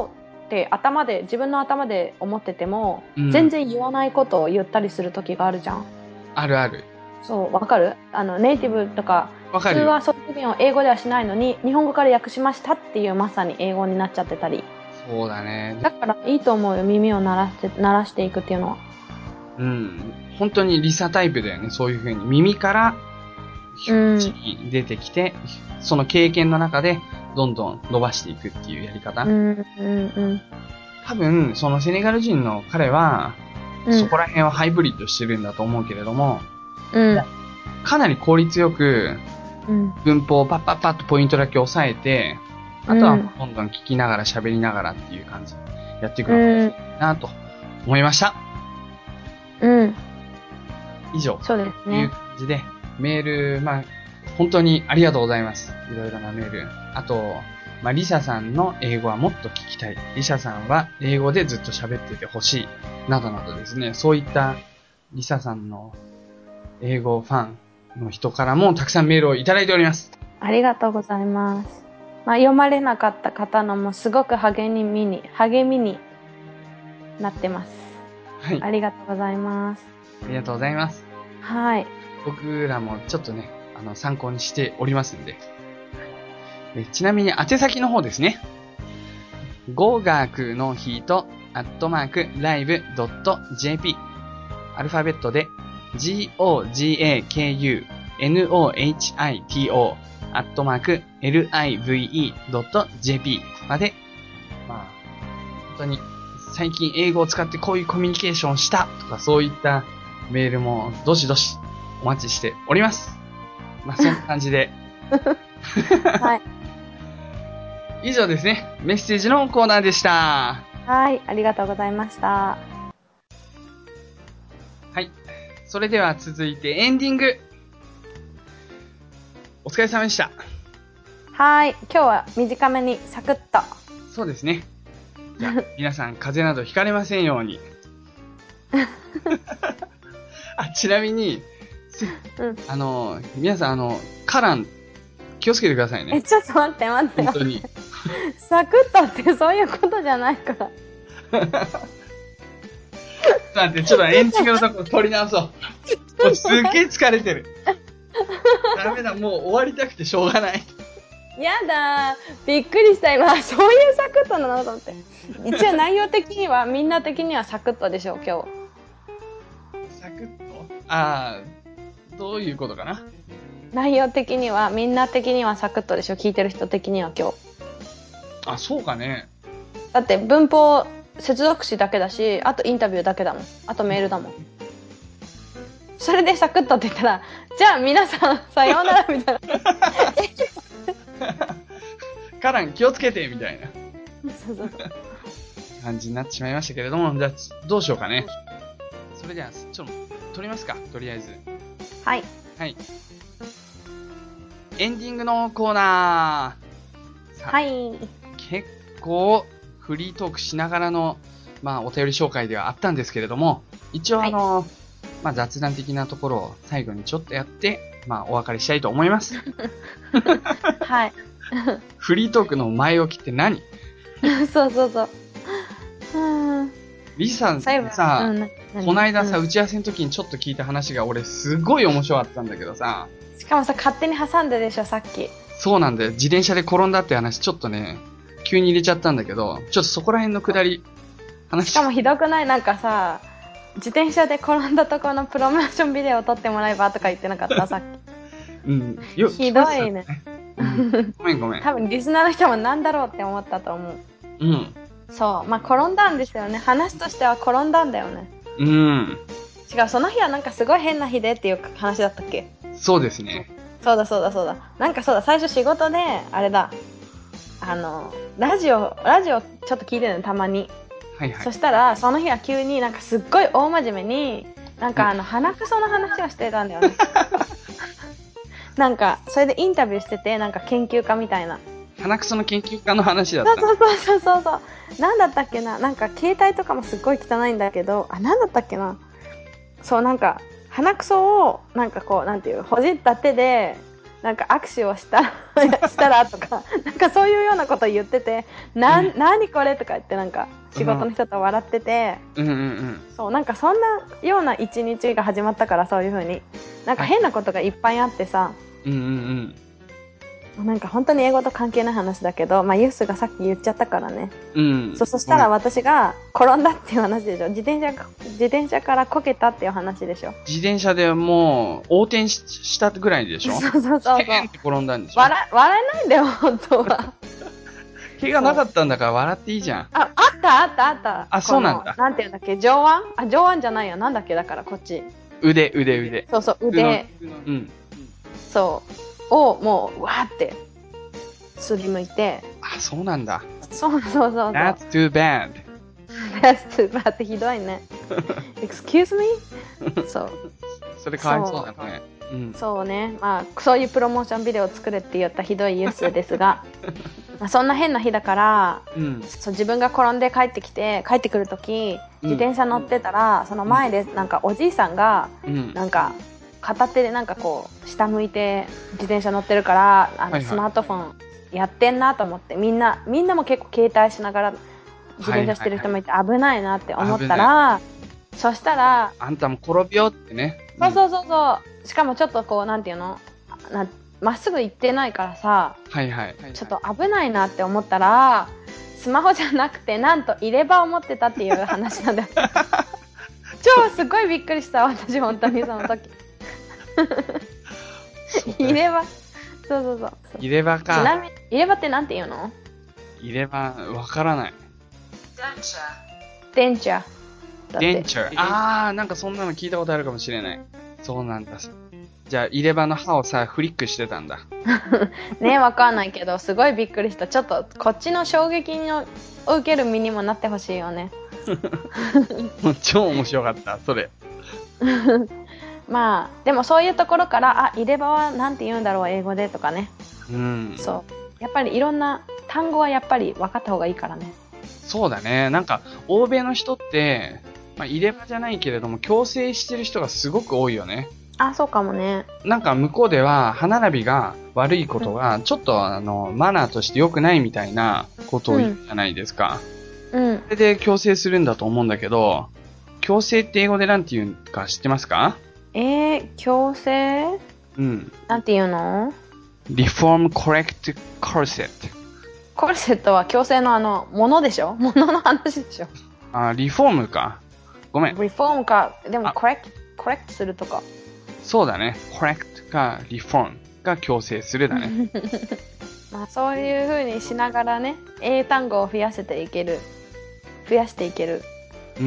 って頭で、自分の頭で思ってても、うん、全然言わないことを言ったりする時があるじゃん。 あるある。 そう、わかる？あの、ネイティブとか、普通はそういう表現を英語ではしないのに、日本語から訳しましたっていうまさに英語になっちゃってたり。 そうだね。 だからいいと思うよ、耳を鳴らして、鳴らしていくっていうのは。 うん。本当にリサタイプだよね、そういう風に。耳から表示に出てきて、うん、その経験の中でどんどん伸ばしていくっていうやり方。 うんうんうん、 多分、そのセネガル人の彼は、うん、そこら辺はハイブリッドしてるんだと思うけれども、 うん、 かなり効率よく、文法をパッパッパッとポイントだけ押さえて、あとはどんどん聞きながら喋りながらっていう感じでやっていくのがいいなと思いました。 うん。 以上。 そうですね。 という感じで、メール、まあ、本当にありがとうございます。いろいろなメール。あと、まあ、リサさんの英語はもっと聞きたい。リサさんは英語でずっと喋っててほしい。などなどですね、そういったリサさんの英語ファンの人からもたくさんメールをいただいております。 ありがとうございます。まあ、読まれなかった方のもすごく励みに、励みになってます。はい。ありがとうございます。 ありがとうございます。 はい。 僕らもちょっとね、あの、参考にしておりますんで。えちなみに宛先の方ですね。語学の日と、アットマーク、ライブ ドット ジェーピー。アルファベットで、ジーオージーエーケーユーエヌオーエイチアイティーオー、アットマーク、エルアイブイイー ドット ジェーピー まで、まあ、本当に、最近英語を使ってこういうコミュニケーションをしたとか、そういったメールも、どしどしお待ちしております。まあ、そんな感じで。 はい。 以上ですね。メッセージのコーナーでした。 はい、ありがとうございました。 はい。それでは続いてエンディング。お疲れ様でした。 はい。今日は短めにサクッと。 そうですね。じゃあ、皆さん風邪などひかれませんように。あ、ちなみに、うん、あの、皆さん、あの、カラン、気をつけてくださいね。 え、ちょっと待って待って。 本当に。 サクッとってそういうことじゃないから。 待って、ちょっとエンディングのところ取り直そう。もうすっげえ疲れてる。ダメだ、もう終わりたくてしょうがない。 やだー。びっくりした今。そういうサクッとなのと思って。一応内容的には、みんな的にはサクッとでしょ、今日。 サクッとああ、どういうことかな。 内容的には、みんな的にはサクッとでしょ、聞いてる人的には今日。 あ、そうかね。 だって文法、接続詞だけだし、あとインタビューだけだもん。あとメールだもん。それでサクッとって言ったら、じゃあ皆さんさようならみたいな。 カラン気をつけてみたいな。 そうそうそう。 感じになってしまいましたけれども、じゃあどうしようかね。それじゃあちょっと撮りますか、とりあえず。 はい。 はい。エンディングのコーナー。はい。 結構フリートークしながらの、まあ、お便り紹介ではあったんですけれども、一応あの、はい、まあ、雑談的なところを最後にちょっとやって、まあ、お別れしたいと思います。 はい。 フリートークの前置きって何？ そうそうそう。 リさんさ、うん、こないださ、うん、打ち合わせの時にちょっと聞いた話が俺すごい面白かったんだけどさ。 しかもさ、勝手に挟んででしょ、さっき。 そうなんだよ。自転車で転んだって話ちょっとね、急に入れちゃったんだけど、ちょっとそこら辺のくだり、話しかもひどくない？なんかさ、自転車で転んだところのプロモーションビデオを撮ってもらえばとか言ってなかったさっき。うん。よひどいね。 うん、ごめんごめん。 多分リスナーの人もなんだろうって思ったと思う。 うん。 そう。まあ、転んだんですよね。話としては転んだんだよね。 うん。 違う、その日はなんかすごい変な日でっていう話だったっけ？ そうですね。 そうだそうだそうだ。なんかそうだ、最初仕事で、あれだ。あの、ラジオ、ラジオちょっと聞いてるの、たまに。 はいはい。 そしたら、その日は急になんかすっごい大真面目に、なんかあの、鼻くその話をしてたんだよね。なんか、それでインタビューしてて、なんか研究家みたいな。 鼻くその研究家の話だった。 そうそうそうそうそう。なんだったっけな、なんか携帯とかもすっごい汚いんだけど、あ、なんだったっけな。そう、なんか、鼻くそを、なんかこう、なんていう、ほじった手で、 なんか握手をしたら、したらとか、なんかそういうようなこと言ってて、な、うん、何これとか言ってなんか仕事の人と笑ってて、うんうんうん、そうなんかそんなような一日が始まったから、そういう風になんか変なことがいっぱいあってさ、うんうんうんなんか本当に英語と関係ない話だけど、まあユースがさっき言っちゃったからね。うん。そ、そしたら私が転んだっていう話でしょ。自転車、自転車からこけたっていう話でしょ。 自転車でもう横転 し, したぐらいでしょ。 そうそうそうそう。 ペーンって転んだんでしょ。 笑、笑えないんだよ、本当は。 怪我なかったんだから笑っていいじゃん。 あ、あったあったあった。 あ、そうなんだ。 なんていうんだっけ、上腕あ、上腕じゃないよ。なんだっけ、だからこっち。 腕、腕、腕。 そうそう、腕。うん。そう。を、もう、わーって。すりむいて。 あ、そうなんだ。 そうそうそうそう。 That's too bad. That's too bad ってひどいね。Excuse me? そう。 それかわいそうだね。 うん、そうね。まあ、そういうプロモーションビデオを作れって言ったひどいユースですが、まあそんな変な日だから、うん、そう自分が転んで帰ってきて、帰ってくるとき、自転車乗ってたら、うん、その前でなんかおじいさんが、うん、なんか、片手でなんかこう、下向いて自転車乗ってるから、あの、スマートフォンやってんなと思って、みんな、みんなも結構携帯しながら自転車してる人もいて危ないなって思ったら、はいはいはい、そしたら、 あんたも転びよってね。 そうそうそうそう。しかもちょっとこう、なんていうのなまっすぐ行ってないからさ、 はいはい。 ちょっと危ないなって思ったら、スマホじゃなくて、なんと入れ歯を持ってたっていう話なんだよ。超すごいびっくりした、私、本当にその時。入れ歯。そうそうそう。 入れ歯か。 ちなみに、入れ歯ってなんて言うの？ 入れ歯、わからない。 デンチャー。 デンチャー。あー、なんかそんなの聞いたことあるかもしれない。そうなんだ。じゃあ、入れ歯の歯をさ、フリックしてたんだ。 ねえ、わかんないけど、すごいびっくりした。ちょっと、こっちの衝撃を受ける身にもなってほしいよね。 超面白かった、それ。 まあ、でもそういうところから、あ、入れ歯はなんて言うんだろう、英語でとかね。うん。そう。やっぱりいろんな単語はやっぱり分かった方がいいからね。 そうだね。なんか、欧米の人って、まあ、入れ歯じゃないけれども、矯正してる人がすごく多いよね。 あ、そうかもね。 なんか向こうでは歯並びが悪いことがちょっとあのマナーとして良くないみたいなことを言うじゃないですか。うん。それで矯正するんだと思うんだけど、矯正って英語でなんて言うか知ってますか？ えー、矯正？うん。なんて言うの？ Reform Correct Corset。 コルセットは矯正のあの、ものでしょ？ものの話でしょ？ あ、リフォームか。ごめん。 リフォームか、でもコレクト、コレクトするとか。 そうだね。correct か reform が矯正するだね。 まあそういう風にしながらね、英単語を増やせていける、増やしていける、うん、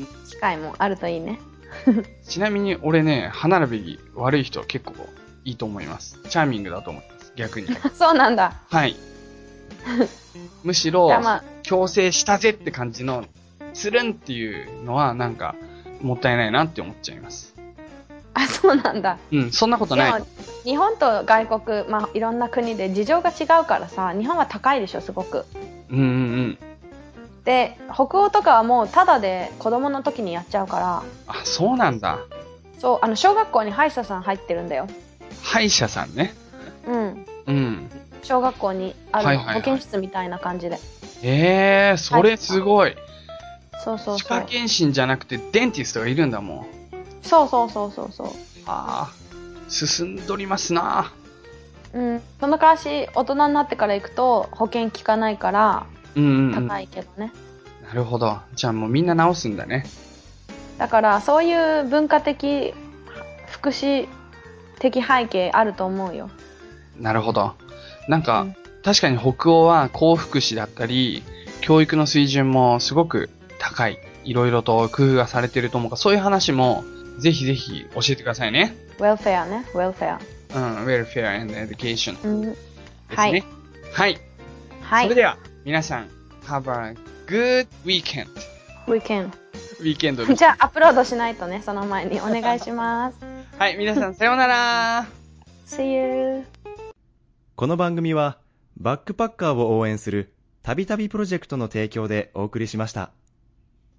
機会もあるといいね。 ちなみに俺ね、歯並び悪い人は結構いいと思います。チャーミングだと思います。逆に。 そうなんだ。 はい。むしろ、矯正したぜって感じの、つるんっていうのはなんか、もったいないなって思っちゃいます。 あ、そうなんだ。 うん、そんなことない。 でも日本と外国、まあいろんな国で事情が違うからさ、日本は高いでしょ、すごく。うんうんうん。で、北欧とかはもうタダで子供の時にやっちゃうから。 あ、そうなんだ。 そう、あの小学校に歯医者さん入ってるんだよ。 歯医者さんね。うん。うん。小学校にあるの、はいはいはい、保健室みたいな感じで。 ええー、それすごい。 そうそうそう。 歯科検診じゃなくてデンティストがいるんだもん。 そうそうそうそうそう。 ああ、進んどりますな。 うん。その代わし、大人になってから行くと保険効かないから、うんうんうん、高いけどね。 なるほど。じゃあもうみんな直すんだね。 だからそういう文化的、福祉的背景あると思うよ。 なるほど。なんか、うん、確かに北欧は高福祉だったり、教育の水準もすごく高い。いろいろと工夫がされてると思うから、そういう話もぜひぜひ教えてくださいね。 welfare ね、welfare。 うん、welfare and education、うん、ですね。 はい。 はい。はい。それでは、皆さん、have a good weekend. weekend。 ウィーケンドです。 じゃあ、アップロードしないとね、その前にお願いします。 はい、皆さん、さようなら。 See you. この番組は、バックパッカーを応援する、たびたびプロジェクトの提供でお送りしました。